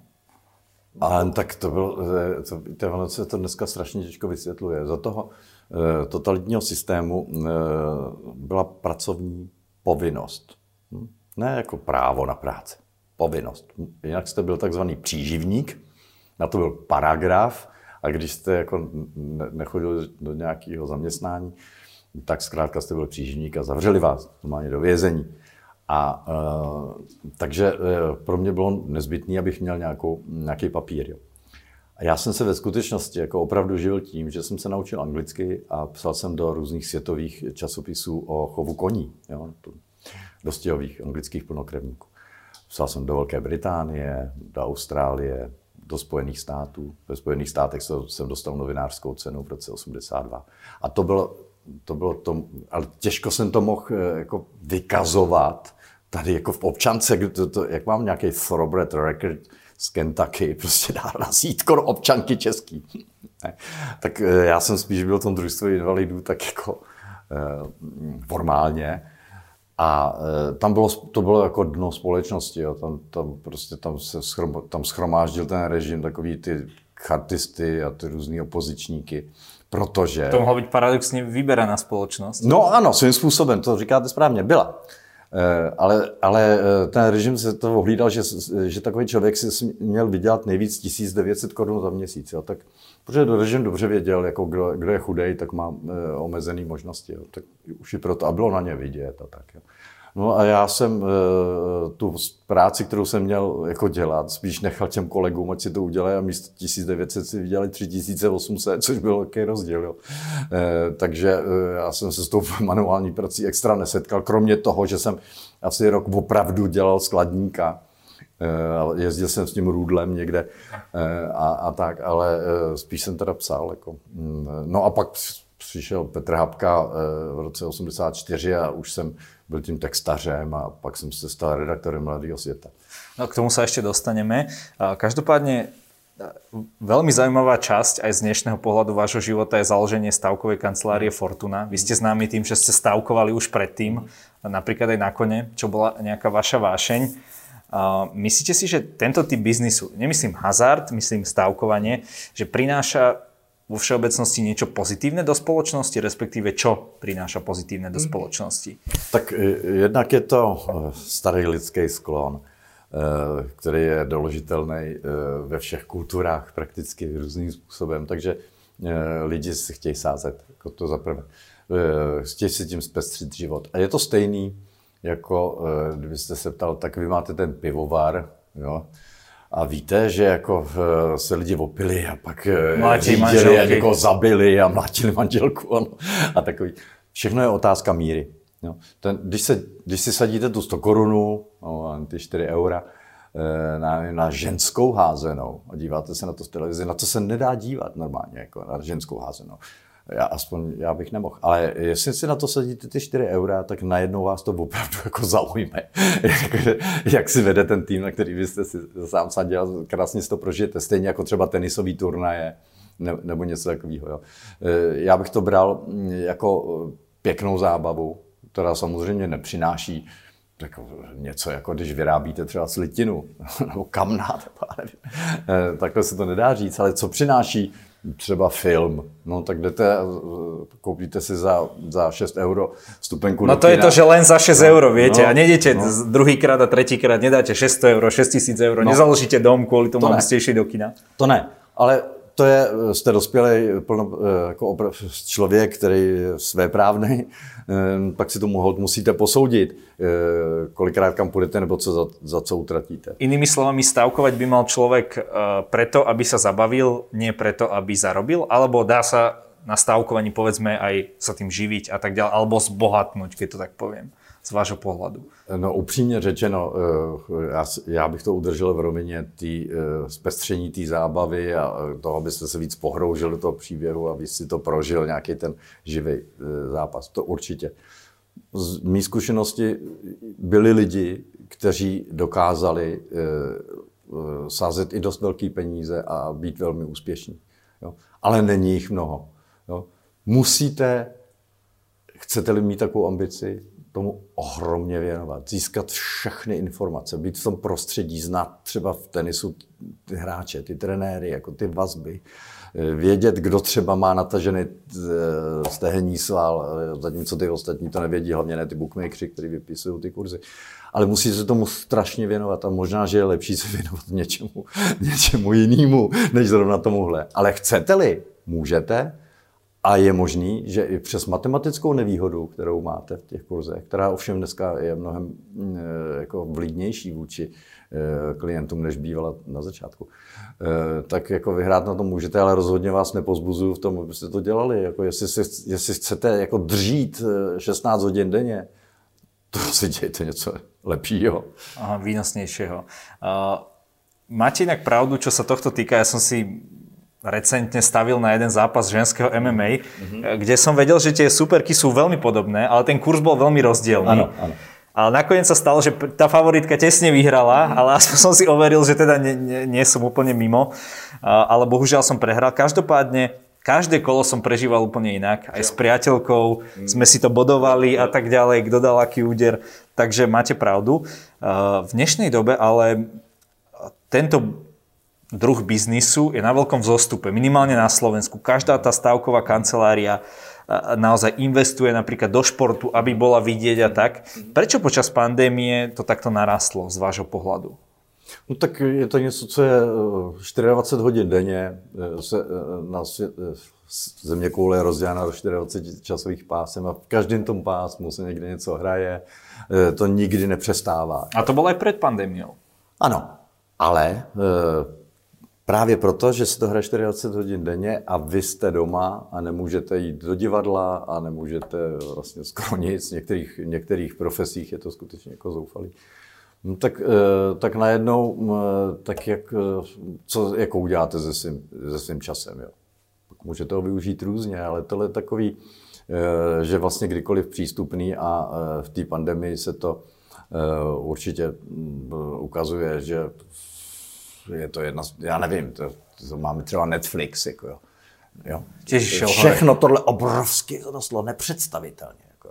A tak to bylo, to, to, ono se to dneska strašně těžko vysvětluje. Za toho e, totalitního systému e, byla pracovní povinnost. Hm? Ne jako právo na práci, povinnost. Jinak jste byl takzvaný příživník, na to byl paragraf a když jste jako ne, nechodil do nějakého zaměstnání, tak zkrátka jste byl příživník a zavřeli vás normálně do vězení. A e, takže e, pro mě bylo nezbytné, abych měl nějakou, nějaký papír. Jo. A já jsem se ve skutečnosti jako opravdu žil tím, že jsem se naučil anglicky a psal jsem do různých světových časopisů o chovu koní, jo, dostihových anglických plnokrevníků. Psal jsem do Velké Británie, do Austrálie, do Spojených států. Ve Spojených státech jsem dostal novinářskou cenu v roce osmdesát dva. A to bylo, to bylo to, ale těžko jsem to mohl jako vykazovat tady jako v občance, to, to, jak mám nějaký thoroughbred record z Kentucky, prostě dá razítko občanky český. Tak já jsem spíš byl v tom družstvu invalidů tak jako eh, formálně. A e, tam bylo, to bylo jako dno společnosti, jo. Tam, tam prostě tam se schrom, tam schromáždil ten režim, takový ty chartisty a ty různý opozičníky, protože... To mohla být paradoxně vyberaná společnost. No ano, svým způsobem, to říkáte správně, byla. E, ale, ale ten režim se to ohlídal, že, že takový člověk si měl vydělat nejvíc tisíc devět set korun za měsíc, jo. Tak, protože režim dobře věděl, jako kdo, kdo je chudej, tak má e, omezené možnosti. Jo. Tak už i proto, a bylo na ně vidět a tak. Jo. No a já jsem e, tu práci, kterou jsem měl jako dělat, spíš nechal těm kolegům, ať si to udělají a místo tisíc devět set si vydělali tři tisíce osm set, což byl velký rozdíl. Jo. E, takže e, já jsem se s tou manuální prací extra nesetkal, kromě toho, že jsem asi rok opravdu dělal skladníka. E, jezdil jsem s tím růdlem někde e, a, a tak, ale e, spíš jsem teda psal. Jako. No a pak přišel Petr Hapka v roce osmdesát čtyři a už jsem byl tím textařem a pak jsem se stal redaktorem Mladého světa. No, k tomu sa ešte dostaneme. Každopádne veľmi zaujímavá časť aj z dnešného pohľadu vášho života je založenie stavkovej kancelárie Fortuna. Vy ste známi tým, že ste stavkovali už predtým, napríklad aj na kone, čo bola nejaká vaša vášeň. Myslíte si, že tento typ biznisu, nemyslím hazard, myslím stavkovanie, že prináša vo všeobecnosti niečo pozitívne do spoločnosti, respektíve čo prináša pozitívne do spoločnosti? Tak jednak je to starý lidský sklon, který je doložitelný ve všech kulturách prakticky různým způsobem, takže lidi si chtějí sázet, jako to zaprvé. Chtějí si tím zpestřit život. A je to stejný, jako kdybyste se ptal, tak vy máte ten pivovar, jo? A víte, že jako se lidi opili a pak řídili a někoho zabili a mlátili manželku ano, a takový. Všechno je otázka míry. Jo. Ten, když, se, když si sadíte tu sto korunu, no, ty čtyři eura, na, na ženskou házenou a díváte se na to v televizi, na to se nedá dívat normálně, jako na ženskou házenou. Já aspoň já bych nemohl. Ale jestli si na to sadíte ty čtyři eura, tak najednou vás to opravdu jako zaujme. Jak si vede ten tým, na který byste si sám sadil, krásně si to prožijete. Stejně jako třeba tenisový turnaje nebo něco takového. Jo. Já bych to bral jako pěknou zábavu, která samozřejmě nepřináší jako něco, jako když vyrábíte třeba slitinu nebo kamna, takhle se to nedá říct, ale co přináší třeba film, no tak jdete, koupíte si za, za šest euro vstupenku no do to kina. Je to, že len za šesť euro, viete, no, a nejdete no. druhýkrát a tretíkrát, nedáte šesťsto euro, šesť tisíc euro, no. Nezaložíte dom kvôli tomu, aby ste išli do kina. To ne, ale to je, jste dospělý plno, jako opra- člověk, který je svéprávnej, pak si to musíte posoudit, kolikrát kam půjdete nebo co za, za co utratíte. Inými slovami, stavkovať by mal človek preto, aby sa zabavil, nie preto, aby zarobil, alebo dá sa na stavkovaní povedzme aj sa tým živiť a tak ďalej, alebo zbohatnúť, keď to tak poviem, z vášho pohľadu. No upřímně řečeno, já, já bych to udržel v rovině tý, zpestření té zábavy a toho, abyste se víc pohroužil do toho příběhu a víc si to prožil, nějaký ten živý zápas. To určitě. Z mý zkušenosti byli lidi, kteří dokázali sázet i dost velký peníze a být velmi úspěšní. Jo? Ale není jich mnoho. Jo? Musíte, chcete-li mít takovou ambici, tomu ohromně věnovat, získat všechny informace, být v tom prostředí, znát třeba v tenisu ty hráče, ty trenéry, jako ty vazby, vědět, kdo třeba má natažený stehenní sval, zatímco ty ostatní to nevědí, hlavně ne ty bookmakeri, kteří vypisují ty kurzy. Ale musí se tomu strašně věnovat a možná, že je lepší se věnovat něčemu, něčemu jinému, než zrovna tomuhle. Ale chcete-li, můžete. A je možný, že i přes matematickou nevýhodu, kterou máte v těch kurzech, která ovšem dneska je mnohem jako vlídnější vůči klientům, než bývala na začátku, tak jako vyhrát na tom můžete, ale rozhodně vás nepozbuzuju v tom, abyste to dělali. Jako jestli, si, jestli chcete jako dřít šestnáct hodin denně, to si dějte něco lepšího. Aha, výnosnejšieho. Uh, máte inak pravdu, čo sa tohto týka, ja som si recentne stavil na jeden zápas ženského em em á, mm-hmm. kde som vedel, že tie superky sú veľmi podobné, ale ten kurz bol veľmi rozdielný. Áno, áno. Ale nakoniec sa stalo, že tá favoritka tesne vyhrala, ale aspoň som si overil, že teda nie, nie, nie som úplne mimo. Ale bohužiaľ som prehral. Každopádne, každé kolo som prežíval úplne inak. Aj s priateľkou sme si to bodovali a tak ďalej, kto dal aký úder. Takže máte pravdu. V dnešnej dobe ale tento druh biznisu je na veľkom vzostupe. Minimálne na Slovensku. Každá tá stavková kancelária naozaj investuje napríklad do športu, aby bola vidieť a tak. Prečo počas pandémie to takto narastlo z vášho pohľadu? No tak je to něco, co je dvacet čtyři hodin denně. Se na svět, zeměkoule je rozdělena do dvacet čtyři časových pásem a v každém tom pásmu se někde něco hraje. To nikdy nepřestává. A to bylo i před pandemiou. Ano, ale právě proto, že se to hraje dvacet čtyři hodin denně a vy jste doma a nemůžete jít do divadla a nemůžete vlastně skoro nic, v některých, některých profesích je to skutečně jako zoufalý. No tak, tak najednou, tak jak, co jako uděláte se svým, se svým časem, jo? Můžete ho využít různě, ale tohle je takový, že vlastně kdykoliv přístupný a v té pandemii se to určitě ukazuje, že je to jedna, já nevím, to, to máme třeba Netflix, jako jo. jo. Všechno tohle obrovsky rostlo, nepředstavitelně. Jako.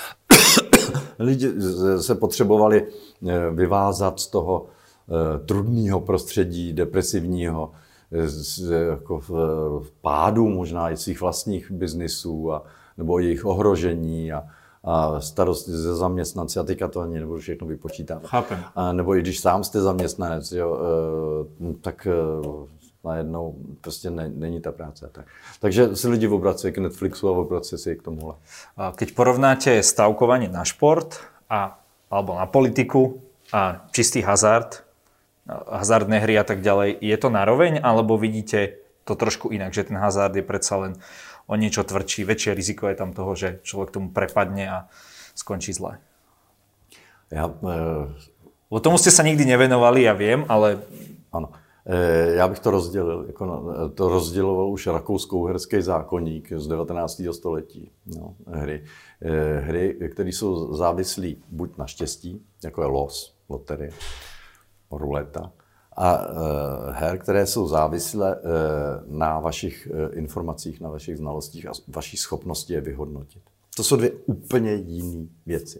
Lidi se potřebovali vyvázat z toho trudného prostředí, depresivního, z jako pádu možná i svých vlastních biznisů, a, nebo jejich ohrožení a, a starosti ze zaměstnanci, a teďka to ani nebudu všechno vypočítávat. Chápem. A nebo i když sám jste zaměstnanec, jo, tak najednou prostě ne, není ta práce. Tak. Takže si lidi obrací k Netflixu a obrací si k tomuhle. Keď porovnáte stavkovanie na šport a, alebo na politiku a čistý hazard, hazardné hry a tak ďalej, je to naroveň, alebo vidíte to trošku inak, že ten hazard je predsa len o niečo tvrdší, väčšie riziko je tam toho, že človek tomu prepadne a skončí zle? Ja, e... O tomu ste sa nikdy nevenovali, ja viem, ale... Ano. Já bych to rozdělil, jako to rozděloval už rakousko-uherský zákoník z devatenáctého století. No, hry, hry, které jsou závislé buď na štěstí, jako je los, loterie, ruleta, a her, které jsou závislé na vašich informacích, na vašich znalostích a vaší schopnosti je vyhodnotit. To jsou dvě úplně jiné věci.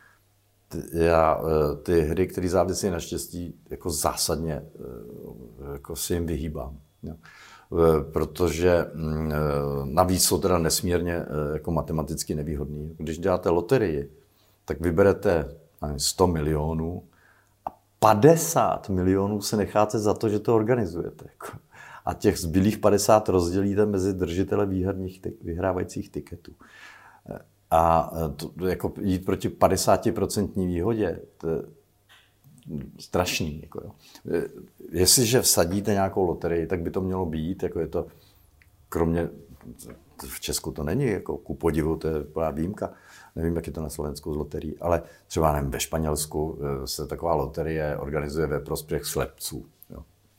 Já ty hry, které závisí na štěstí, jako zásadně jako si jim vyhýbám. Jo. Protože navíc jsou teda nesmírně jako matematicky nevýhodný. Když děláte loterii, tak vyberete sto milionů a padesát milionů se necháte za to, že to organizujete. Jako. A těch zbylých padesát rozdělíte mezi držitele výherních vyhrávajících tiketů. A to, jako jít proti padesátprocentní výhodě, to je strašný. Jako jo. Jestliže vsadíte nějakou loterii, tak by to mělo být, jako je to, kromě, v Česku to není, jako ku podivu, to je úplná výjimka, nevím, jak je to na Slovensku z loterií, ale třeba nevím, ve Španělsku se taková loterie organizuje ve prospěch slepců. Jo.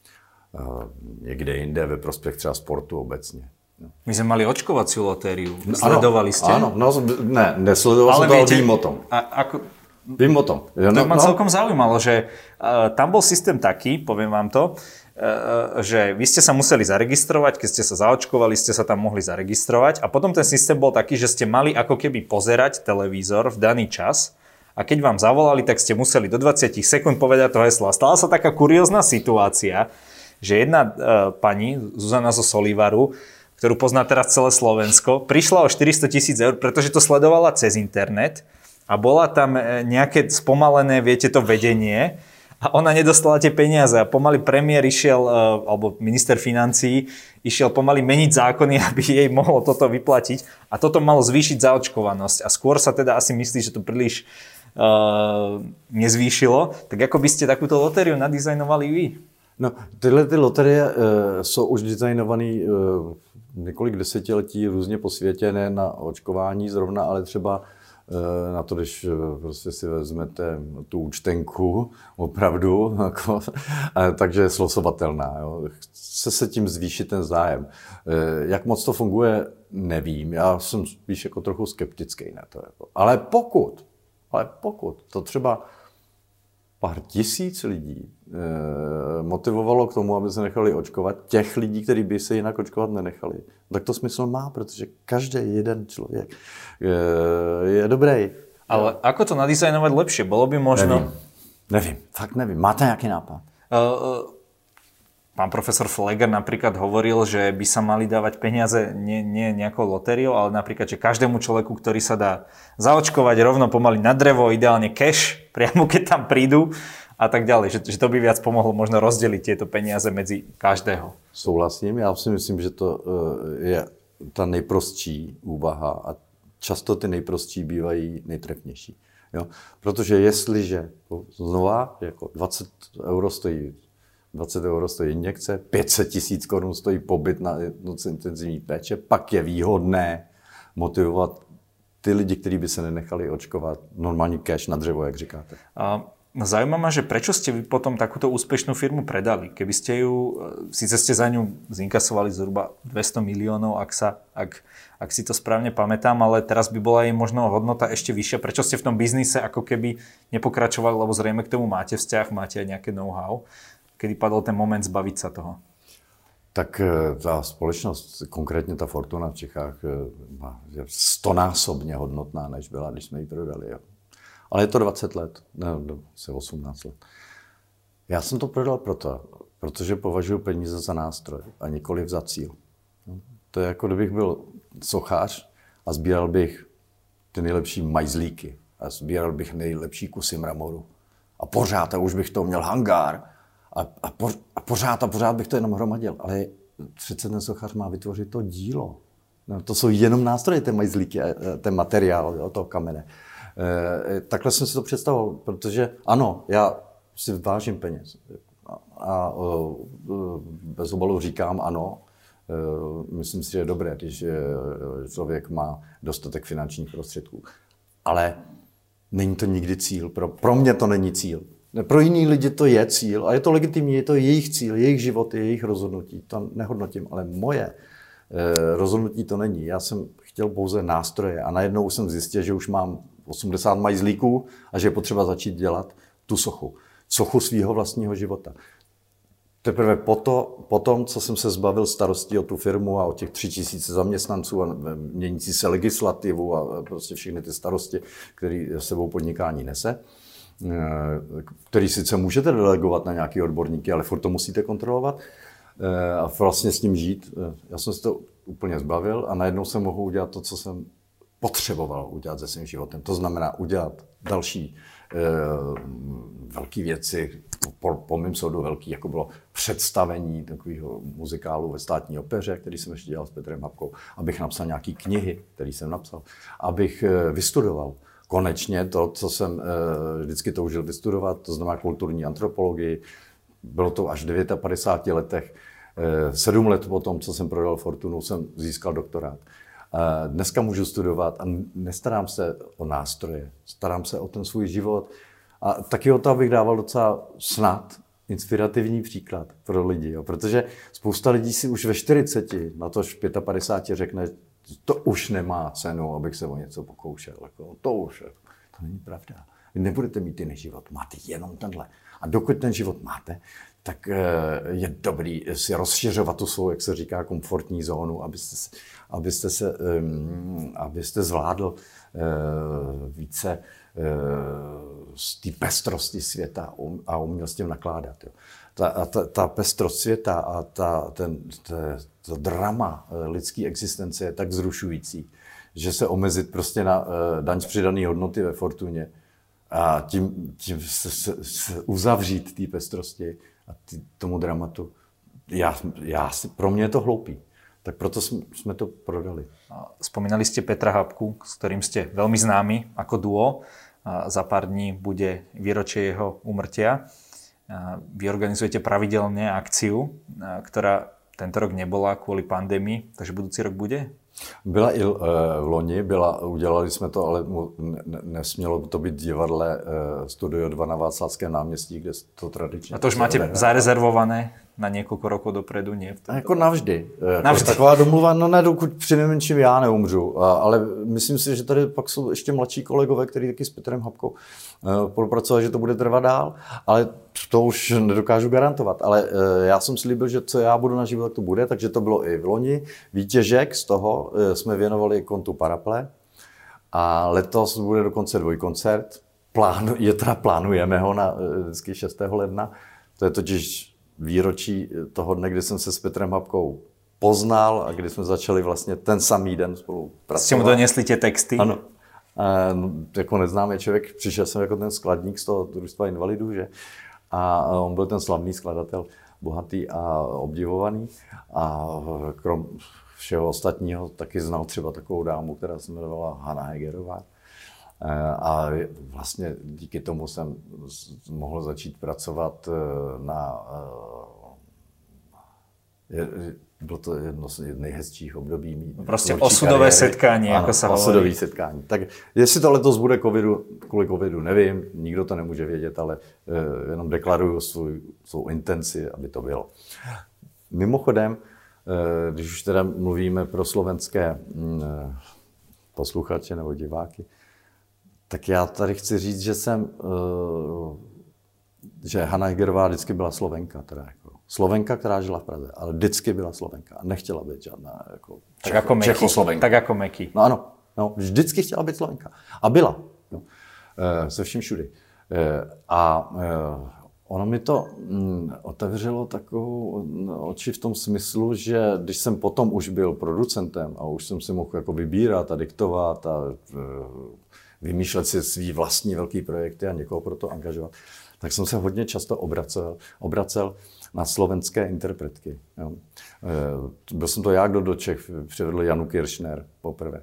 Někde jinde ve prospěch třeba sportu obecně. My sme mali očkovaciu lotériu. Sledovali ste? Áno, no, ne, nesledoval som to, ale vím o tom. A ako, vím o tom. To no, ma no. celkom zaujímalo, že uh, tam bol systém taký, poviem vám to, uh, že vy ste sa museli zaregistrovať, keď ste sa zaočkovali, ste sa tam mohli zaregistrovať a potom ten systém bol taký, že ste mali ako keby pozerať televízor v daný čas a keď vám zavolali, tak ste museli do dvadsať sekúnd povedať to heslo. A stala sa taká kuriózna situácia, že jedna uh, pani, Zuzana zo Solivaru, ktorú pozná teraz celé Slovensko, prišla o štyristo tisíc eur, pretože to sledovala cez internet a bola tam nejaké spomalené, viete, to vedenie a ona nedostala tie peniaze a pomaly premiér išiel, alebo minister financií, išiel pomaly meniť zákony, aby jej mohlo toto vyplatiť a toto malo zvýšiť zaočkovanosť a skôr sa teda asi myslí, že to príliš uh, nezvýšilo. Tak ako by ste takúto lotériu nadizajnovali vy? No, tyhle ty loterie uh, jsou už designované uh, několik desetiletí různě po světě, ne na očkování zrovna, ale třeba uh, na to, když uh, prostě si vezmete tu účtenku, opravdu, jako, uh, takže je slosovatelná. Jo. Chce se tím zvýšit ten zájem. Uh, jak moc to funguje, nevím. Já jsem spíš jako trochu skeptický na to. Jako. Ale pokud, Ale pokud to třeba pár tisíc lidí e, motivovalo k tomu, aby se nechali očkovat, těch lidí, kteří by se jinak očkovat nenechali, tak to smysl má, protože každý jeden člověk e, je dobrý. Ale ako to nadizajnovať lepšie? Bolo by možno... Nevím, nevím, fakt nevím. Máte nějaký nápad? Uh, pán profesor Fleger napríklad hovoril, že by sa mali dávať peniaze nie, nie nejakou lotériou, ale napríklad, že každému človeku, ktorý sa dá zaočkovať rovno pomaly na drevo, ideálne cash, priamo keď tam prídu a tak ďalej. Že, že to by viac pomohlo možno rozdeliť tieto peniaze medzi každého. Souhlasím, já si myslím, že to je ta nejprostší úvaha a často ty nejprostší bývají nejtrefnější. Jo? Protože jestliže znova jako dvacet euro stojí dvacet euro stojí injekce, pět set tisíc korun stojí pobyt na jednotce intenzivní péče, pak je výhodné motivovat ty lidi, kteří by se nenechali očkovat, normální cash na dřevo, jak říkáte. A zaujíma ma, že prečo ste vy potom takúto úspešnú firmu predali? Keby ste ju, síce ste za ňu zinkasovali zhruba dvesto miliónov, ak, sa, ak, ak si to správne pamätám, ale teraz by bola jej možno hodnota ešte vyššia. Prečo ste v tom biznise ako keby nepokračovali, lebo zrejme k tomu máte vzťah, máte aj nejaké know-how? Kedy padl ten moment zbaviť sa toho? Tak ta společnost, konkrétně ta Fortuna v Čechách, je stonásobně hodnotná, než byla, když jsme ji prodali. Jo. Ale je to dvacet let, ne, se osmnáct let. Já jsem to prodal proto, protože považuji peníze za nástroj a nikoliv za cíl. To je jako kdybych byl sochař a sbíral bych ty nejlepší majzlíky a sbíral bych nejlepší kusy mramoru. A pořád, a už bych to měl hangár, A, a, po, a pořád a pořád bych to jenom hromadil, ale přece ten sochař má vytvořit to dílo. No, to jsou jenom nástroje, ten majzlíky, ten materiál, jo, toho kamene. E, takhle jsem si to představoval, protože ano, já si vážím peněz. A, a bez obalu říkám ano, e, myslím si, že je dobré, když člověk má dostatek finančních prostředků. Ale není to nikdy cíl, pro, pro mě to není cíl. Pro jiný lidi to je cíl a je to legitimní, je to jejich cíl, jejich život, jejich rozhodnutí. To nehodnotím, ale moje eh, rozhodnutí to není. Já jsem chtěl pouze nástroje a najednou jsem zjistil, že už mám osmdesát majzlíků a že je potřeba začít dělat tu sochu. Sochu svého vlastního života. Teprve poto, potom, co jsem se zbavil starostí o tu firmu a o těch tři tisíce zaměstnanců a měnící se legislativu a prostě všechny ty starosti, které sebou podnikání nese, který sice můžete delegovat na nějaký odborníky, ale furt to musíte kontrolovat a vlastně s tím žít. Já jsem se to úplně zbavil a najednou jsem mohl udělat to, co jsem potřeboval udělat se svým životem. To znamená udělat další eh, velké věci, po, po mým soudu velký, jako bylo představení takového muzikálu ve Státní opeře, který jsem ještě dělal s Petrem Hapkou, abych napsal nějaké knihy, které jsem napsal, abych eh, vystudoval konečně to, co jsem eh, vždycky toužil vystudovat, to znamená kulturní antropologii. Bylo to až v padesátých devíti letech. Eh, sedm let po tom, co jsem prodal Fortunu, jsem získal doktorát. Eh, dneska můžu studovat a nestarám se o nástroje, starám se o ten svůj život. A taky o to, abych dával docela snad inspirativní příklad pro lidi. Jo. Protože spousta lidí si už ve čtyřiceti, na tož v padesátých pěti řekne, to už nemá cenu, abych se o něco pokoušel. Jako, to už, to není pravda. Vy nebudete mít jiný život, máte jenom tenhle. A dokud ten život máte, tak je dobrý si rozšiřovat tu svou, jak se říká, komfortní zónu, abyste, abyste, se, abyste zvládl více z té pestrosti světa a uměl s tím nakládat. Jo. Ta, ta, ta pestrost světa a ta, ten, ta, ta drama lidské existence je tak zrušující, že se omezit prostě na uh, daň z přidané hodnoty ve Fortuně a tím, tím se, se, se uzavřít té pestrosti a tý, tomu dramatu, já, já, pro mě je to hloupý. Tak proto jsme, jsme to prodali. Spomínali ste Petra Hapku, s ktorým ste veľmi známi ako duo. Za pár dní bude výročie jeho úmrtia. Vy organizujete pravidelne akciu, ktorá tento rok nebola kvôli pandémii, takže budúci rok bude? Byla i v loni, byla, udělali jsme to, ale nesmělo to být divadle Studio dva na Václavském náměstí, kde to tradičně... A to už máte zarezervované? na niekoľko rokov dopredu, nie? Jako navždy. Navždy. Taková domluva, no ne, dokud přinejmenším já neumřu. Ale myslím si, že tady pak jsou ještě mladší kolegové, kteří taky s Petrem Hapkou spolupracovali, že to bude trvat dál, ale to už nedokážu garantovat. Ale já jsem slíbil, že co já budu naživo, tak to bude, takže to bylo i v loni. Výtěžek z toho jsme věnovali kontu Paraple a letos bude dokonce dvojkoncert. Plánu, je teda plánujeme ho na vždycky šestého ledna. To je totiž výročí toho dne, kdy jsem se s Petrem Hapkou poznal a kdy jsme začali vlastně ten samý den spolu pracovat. Jste mu donesli tě texty? Ano. E, no, jako neznámý člověk, přišel jsem jako ten skladník z toho družstva invalidů, že? A on byl ten slavný skladatel, bohatý a obdivovaný. A krom všeho ostatního taky znal třeba takovou dámu, která se jmenovala Hana Hegerová. A vlastně díky tomu jsem mohl začít pracovat na... Bylo to jedno z nejhezčích období mý prostě osudové setkání, jako se hovorí. Osudové setkání. Tak jestli to letos bude covidu, kvůli covidu, nevím, nikdo to nemůže vědět, ale jenom deklaruju svou, svou intenci, aby to bylo. Mimochodem, když už teda mluvíme pro slovenské posluchače nebo diváky, tak já tady chci říct, že jsem, že Hana Hegerová vždycky byla Slovenka, teda jako Slovenka, která žila v Praze, ale vždycky byla Slovenka a nechtěla být žádná jako tak Čecho, jako Čechoslovenka. Tak jako Meky. No ano, no, vždycky chtěla být Slovenka a byla, no, se vším všudy. A ono mi to otevřelo takovou oči v tom smyslu, že když jsem potom už byl producentem a už jsem si mohl jako vybírat a diktovat a vymýšlet si svý vlastní velký projekty a někoho pro to angažovat, tak jsem se hodně často obracel, obracel na slovenské interpretky. Jo. Byl jsem to já, kdo do Čech přivedl Janu Kiršner poprvé.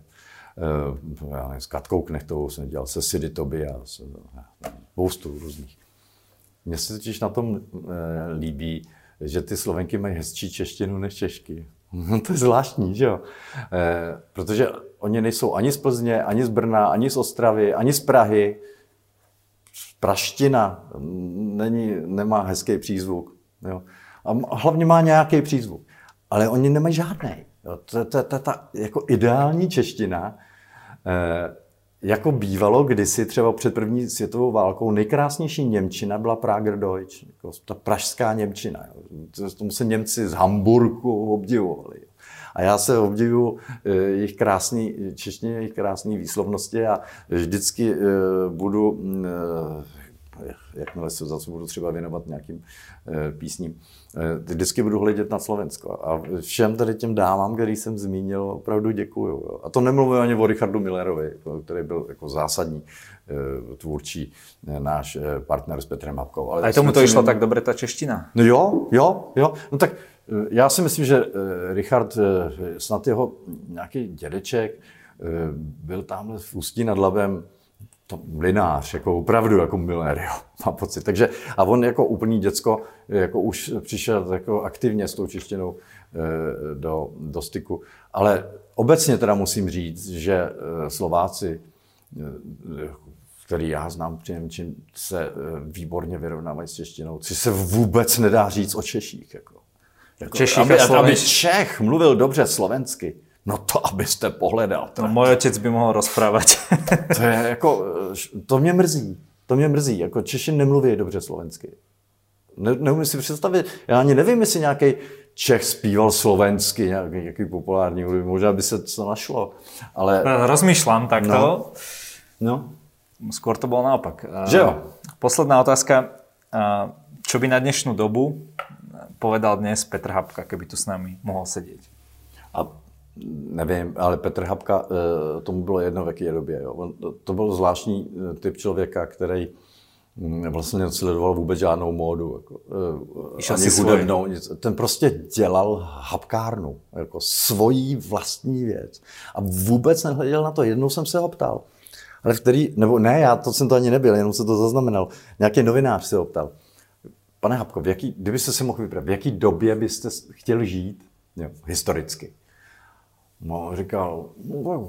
Já nevím, s Katkou Knechtovou jsem dělal, se Sidy Toby a spoustu různých. Mně se totiž na tom líbí, že ty Slovenky mají hezčí češtinu než Češky. No to je zvláštní, že jo? E, protože oni nejsou ani z Plzně, ani z Brna, ani z Ostravy, ani z Prahy. Praština není, nemá hezký přízvuk. Jo? A hlavně má nějaký přízvuk. Ale oni nemají žádný. To je ta jako ideální čeština. E, jako bývalo kdysi třeba před první světovou válkou nejkrásnější němčina byla Prager Deutsch, jako ta pražská němčina. Jo. Tomu se Němci z Hamburku obdivovali. Jo. A já se obdivuju jejich krásný češtině, jejich krásné výslovnosti a vždycky budu, jakmile se zase budu třeba věnovat nějakým písním, vždycky budu hledět na Slovensko. A všem tady těm dámám, který jsem zmínil, opravdu děkuju. Jo. A to nemluvím ani o Richardu Millerovi, který byl jako zásadní tvůrčí náš partner s Petrem Hapkou. Ale a tomu to išlo tak dobře ta čeština? No jo, jo, jo. No tak já si myslím, že Richard, snad jeho nějaký dědeček, byl tamhle v Ústí nad Labem to mlynář, jako opravdu jako Miller, jo, mám pocit. Takže, a on jako úplný děcko jako už přišel jako aktivně s tou češtinou do, do styku. Ale obecně teda musím říct, že Slováci, který já znám přinejmenším, se výborně vyrovnávají s češtinou, což se vůbec nedá říct o Češích. Jako. Jako, aby, aby Čech mluvil dobře slovensky, no to abyste pohledal. No, můj otec by mohl rozprávat. To je jako, to mě mrzí, to mě mrzí, jako Češi nemluví dobře slovensky. Ne, neumím si představit, já ani nevím, jestli nějaký Čech zpíval slovensky, nějaký, nějaký populární hudby, možná by se to našlo, ale... Rozmýšľam takto. No. no. Skôr to bolo naopak. Že jo? Posledná otázka, čo by na dnešnú dobu povedal dnes Petr Hapka, keby tu s nami mohol sedieť? A nevím, ale Petr Hapka, tomu bylo jedno v jaké době. Jo. To byl zvláštní typ člověka, který vlastně nesledoval vůbec žádnou módu. Jako, ani hudebnou. Ten prostě dělal hapkárnu, jako svojí vlastní věc. A vůbec nehleděl na to. Jednou jsem se ho ptal. Ale v který, nebo ne, já to jsem to ani nebyl, jenom se to zaznamenal. Nějaký novinář se ho ptal. Pane Hapko, v jaký, kdybyste si mohl vybrat, v jaký době byste chtěl žít, jo, historicky? No, říkal, no,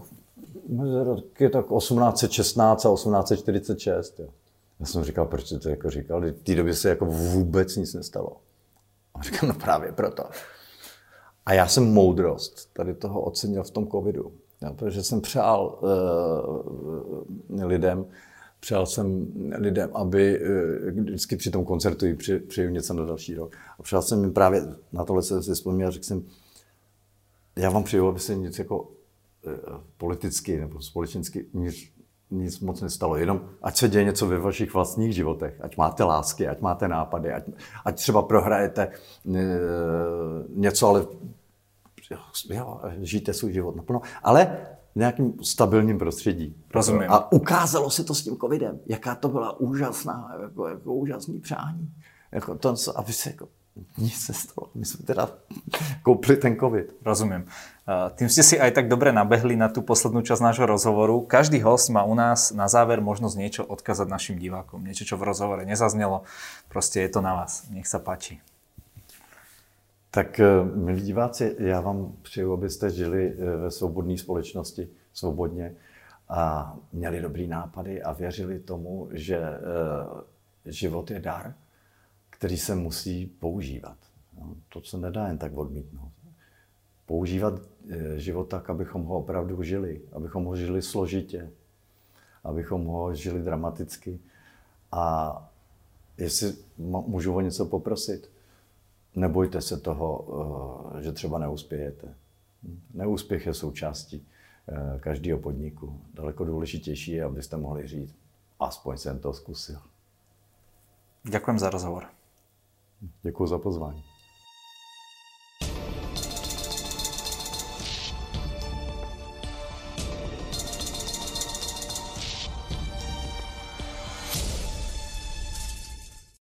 je tak osmnáct set šestnáct a osmnáct set čtyřicet šest. Jo. Já jsem říkal, proč to jako říkal, v té době se jako vůbec nic nestalo. A říkám, no právě proto. A já jsem moudrost tady toho ocenil v tom covidu. Jo, protože jsem přál uh, lidem, přál jsem lidem, aby uh, vždycky při tom koncertu při, přijel něco na další rok. A přál jsem jim právě, na tohle se si vzpomněl, řekl jsem, já vám přeju, aby se nic jako uh, politicky nebo společensky nic, nic moc nestalo. Jenom ať se děje něco ve vašich vlastních životech. Ať máte lásky, ať máte nápady, ať, ať třeba prohrajete uh, něco, ale jo, žijte svůj život naplno, ale v nějakým stabilním prostředí. Rozumím. A ukázalo se to s tím covidem, jaká to byla úžasná, jako, jako úžasný přání. Jako to, aby se jako nic nestalo. My jsme teda koupili ten covid. Rozumiem. Tým ste si aj tak dobre nabehli na tú poslednú časť nášho rozhovoru. Každý host má u nás na záver možnosť niečo odkázať našim divákom. Niečo, čo v rozhovore nezaznelo. Proste je to na vás. Nech sa páči. Tak, milí diváci, já vám přeju, abyste žili ve svobodné společnosti, svobodně a měli dobrý nápady a věřili tomu, že život je dar, který se musí používat. To se nedá jen tak odmítnout. Používat život tak, abychom ho opravdu žili, abychom ho žili složitě, abychom ho žili dramaticky. A jestli můžu o něco poprosit, nebojte se toho, že třeba neuspějete. Neúspěch je součástí každého podniku. Daleko důležitější je, abyste mohli říct, aspoň jsem to zkusil. Ďakujem za rozhovor. Děkuji za pozvání.